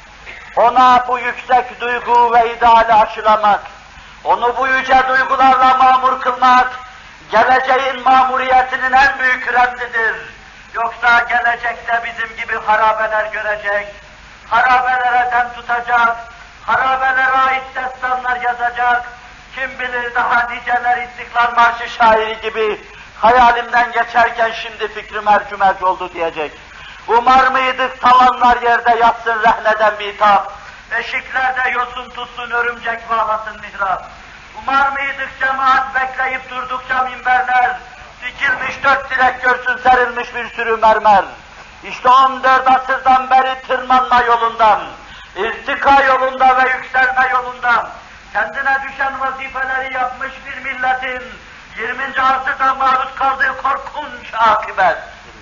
Ona bu yüksek duygu ve ideali aşılamak, onu bu yüce duygularla mamur kılmak, geleceğin mamuriyetinin en büyük remzidir. Yoksa gelecekte bizim gibi harabeler görecek, harabelere dem tutacak, harabelere ait destanlar yazacak, kim bilir daha niceler İstiklal Marşı şairi gibi hayalimden geçerken şimdi fikrim ercümerc oldu diyecek. Umar mıydık tavanlar yerde yatsın rehneden bitap, eşiklerde yosun tutsun örümcek bağlasın mihrap. Umar mıydık cemaat bekleyip durdukça minberler, dikilmiş 4 direk görsün serilmiş bir sürü mermer. İşte 14 asırdan beri tırmanma yolundan, irtika yolunda ve yükselme yolundan, kendine düşen vazifeleri yapmış bir milletin 20. asırda maruz kaldığı korkunç akıbet.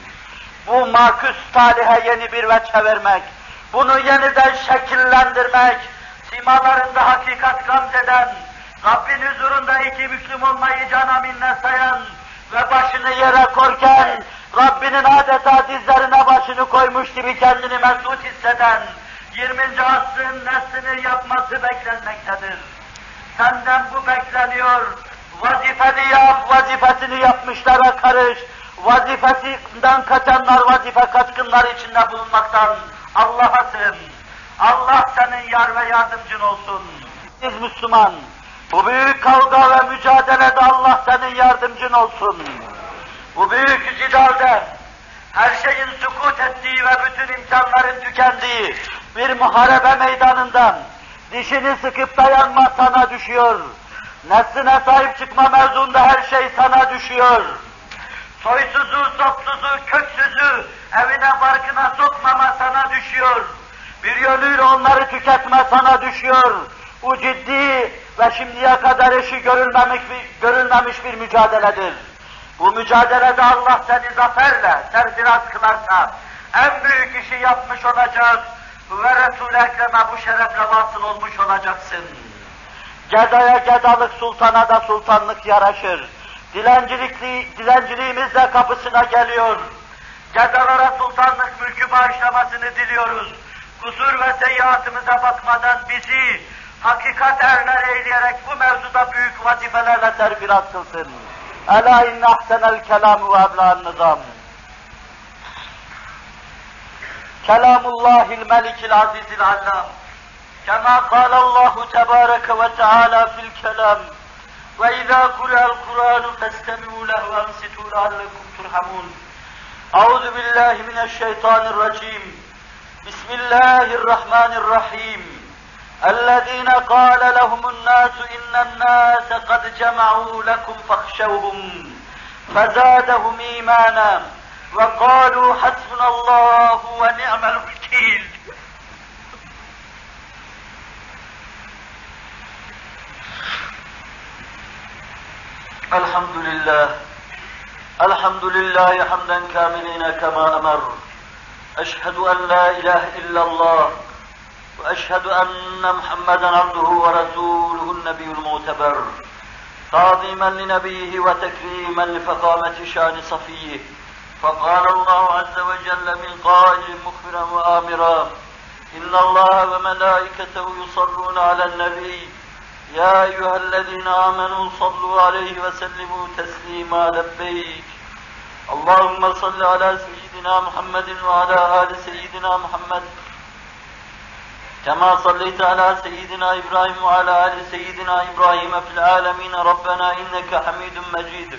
Bu maküs talihe yeni bir veçhe vermek, bunu yeniden şekillendirmek, simalarında hakikat gamzeden, Rabbin huzurunda iki Müslüm olmayı cana minnet sayan ve başını yere korken, Rabbinin adeta dizlerine başını koymuş gibi kendini mesut hisseden, 20. asrın neslini yapması beklenmektedir. Senden bu bekleniyor, vazifeni yap, vazifesini yapmışlara karış, vazifesinden kaçanlar, vazife kaçkınları içinde bulunmaktan Allah'a sığın. Allah senin yar ve yardımcın olsun. Siz Müslüman, bu büyük kavga ve mücadelede Allah senin yardımcın olsun. Bu büyük cidalde her şeyin sükut ettiği ve bütün imkanların tükendiği bir muharebe meydanından dişini sıkıp dayanma sana düşüyor. Nesline sahip çıkma mevzunda her şey sana düşüyor. Soysuzu, sopsuzu, köksüzü evine barkına sokmama sana düşüyor. Bir yönüyle onları tüketme sana düşüyor. Bu ciddi ve şimdiye kadar eşi görülmemiş bir mücadeledir. Bu mücadelede Allah seni zaferle serfiraz kılarsa en büyük işi yapmış olacak ve Resul-i Ekrem'e bu şerefle vasıl olmuş olacaksın. Gedaya gedalık, sultana da sultanlık yaraşır. Dilenciliğimiz de kapısına geliyor. Gedalara sultanlık mülkü bağışlamasını diliyoruz. Kusur ve seyyiatımıza bakmadan bizi hakikat erler eyleyerek bu mevzuda büyük vazifelerle serfiraz kılsın. Ela inne ahsenel kelamu ve ebla'n nizam. kelamullahil melikil azizil allam. Kema kâlallahu tebâreke ve teâlâ fil kelam. Ve izâ kurâ'l Kur'ânu festemî'û lehu ve ansitû leallekum turhamûn. Euzu billahi mineşşeytanirracim. Bismillahirrahmanirrahim. اَلَّذ۪ينَ قَالَ لَهُمُ النَّاسُ اِنَّ النَّاسَ قَدْ جَمَعُوا لَكُمْ فَاخْشَوْهُمْ فَزَادَهُمْ اِيمَانًا وَقَالُوا حَسْبُنَا اللّٰهُ وَنِعْمَ الْوَكِيلُ. الحمد لله حمدا كاملين كما أمر. أشهد أن لا إله إلا الله وأشهد أن محمدا عبده ورسوله النبي المعتبر تعظيما لنبيه وتكريما لفخامة شان صفيه. فقال الله عز وجل من قائل مخبرا وآمرا إن الله وملائكته يصلون على النبي يا أيها الذين آمنوا صلوا عليه وسلموا تسليما. لبيك اللهم صل على سيدنا محمد وعلى آل سيدنا محمد كما صليت على سيدنا إبراهيم وعلى آل سيدنا إبراهيم في العالمين ربنا إنك حميد مجيد.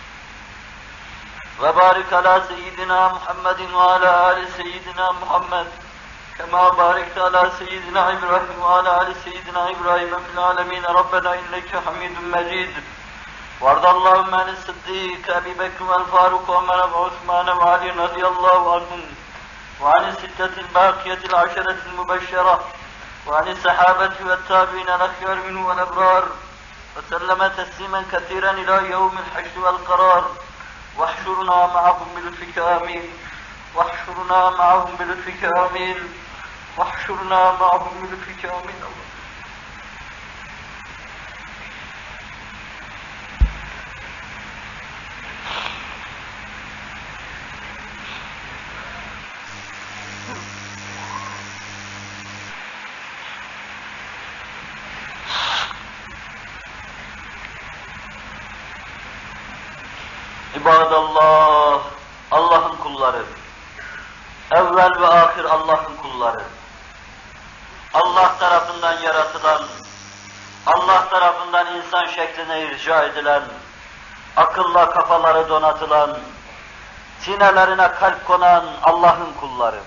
وبارك على سيدنا محمد وعلى آل سيدنا محمد كما باركت على سيدنا إبراهيم وعلى آل سيدنا إبراهيم في العالمين ربنا إنك حميد مجيد. وارض اللهم عن الصديق أبي بكر والفاروق وعمر وعثمان وعلي رضي الله عنهم وعن الستة الباقية العشرة المبشرة وعن الصحابة والتابعين الأخيار منه والأبرار وسلم تسليما كثيرا إلى يوم الحشر والقرار. واحشرنا معهم بلطفك آمين. واحشرنا معهم بلطفك آمين. واحشرنا معهم بلطفك آمين. İbadallah, Allah'ın kulları, evvel ve ahir Allah'ın kulları, Allah tarafından yaratılan, Allah tarafından insan şekline irca edilen, akılla kafaları donatılan, sinelerine kalp konan Allah'ın kulları,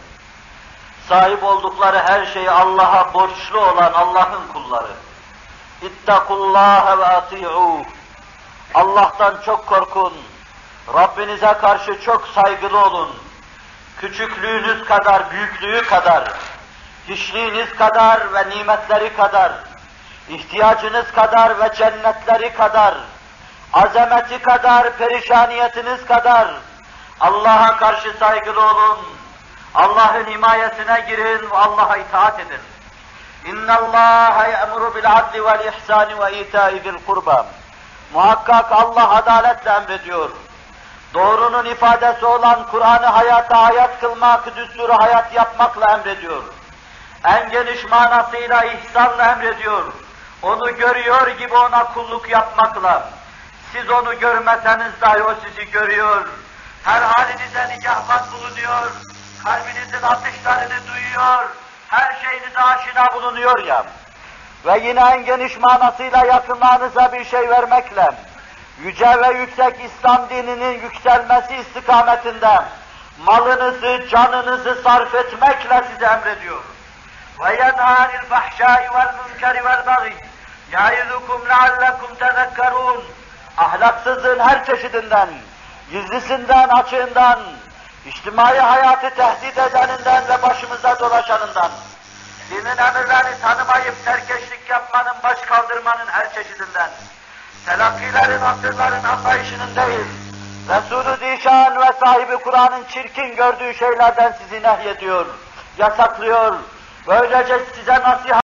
sahip oldukları her şeyi Allah'a borçlu olan Allah'ın kulları, İttakullâhe ve ati'ûh, Allah'tan çok korkun, Rabbinize karşı çok saygılı olun. Küçüklüğünüz kadar, büyüklüğü kadar, hiçliğiniz kadar ve nimetleri kadar, ihtiyacınız kadar ve cennetleri kadar, azameti kadar, perişaniyetiniz kadar Allah'a karşı saygılı olun. Allah'ın himayesine girin ve Allah'a itaat edin. İnna Allaha ya'muru bil adli vel ihsani ve ita'i zil kurba. Muhakkak Allah adaletle emrediyor. Doğrunun ifadesi olan Kur'an'ı hayata hayat kılmak, düsturu hayat yapmakla emrediyor. En geniş manasıyla ihsanla emrediyor. Onu görüyor gibi ona kulluk yapmakla. Siz onu görmeseniz dahi o sizi görüyor. Her halinize nigahban bulunuyor. Kalbinizin atışlarını duyuyor. Her şeyinize aşina bulunuyor ya. Ve yine en geniş manasıyla yakınlarınıza bir şey vermekle, yüce ve yüksek İslam dininin yükselmesi istikametinde malınızı, canınızı sarf etmekle size emrediyor. وَيَنْهَا عَنِ الْفَحْشَاءِ وَالْمُنْكَرِ وَالْبَغِيِّ يَعِظُكُمْ لَعَلَّكُمْ تَذَكَّرُونَ. Ahlaksızlığın her çeşidinden, gizlisinden, açığından, içtimai hayatı tehdit edeninden ve başımıza dolaşanından, dinin emirlerini tanımayıp serkeşlik yapmanın, baş kaldırmanın her çeşidinden, telakkilerin, asırların anlayışının değil, Resul-ü Zişan ve sahibi Kur'an'ın çirkin gördüğü şeylerden sizi nehyediyor, yasaklıyor, böylece size nasihat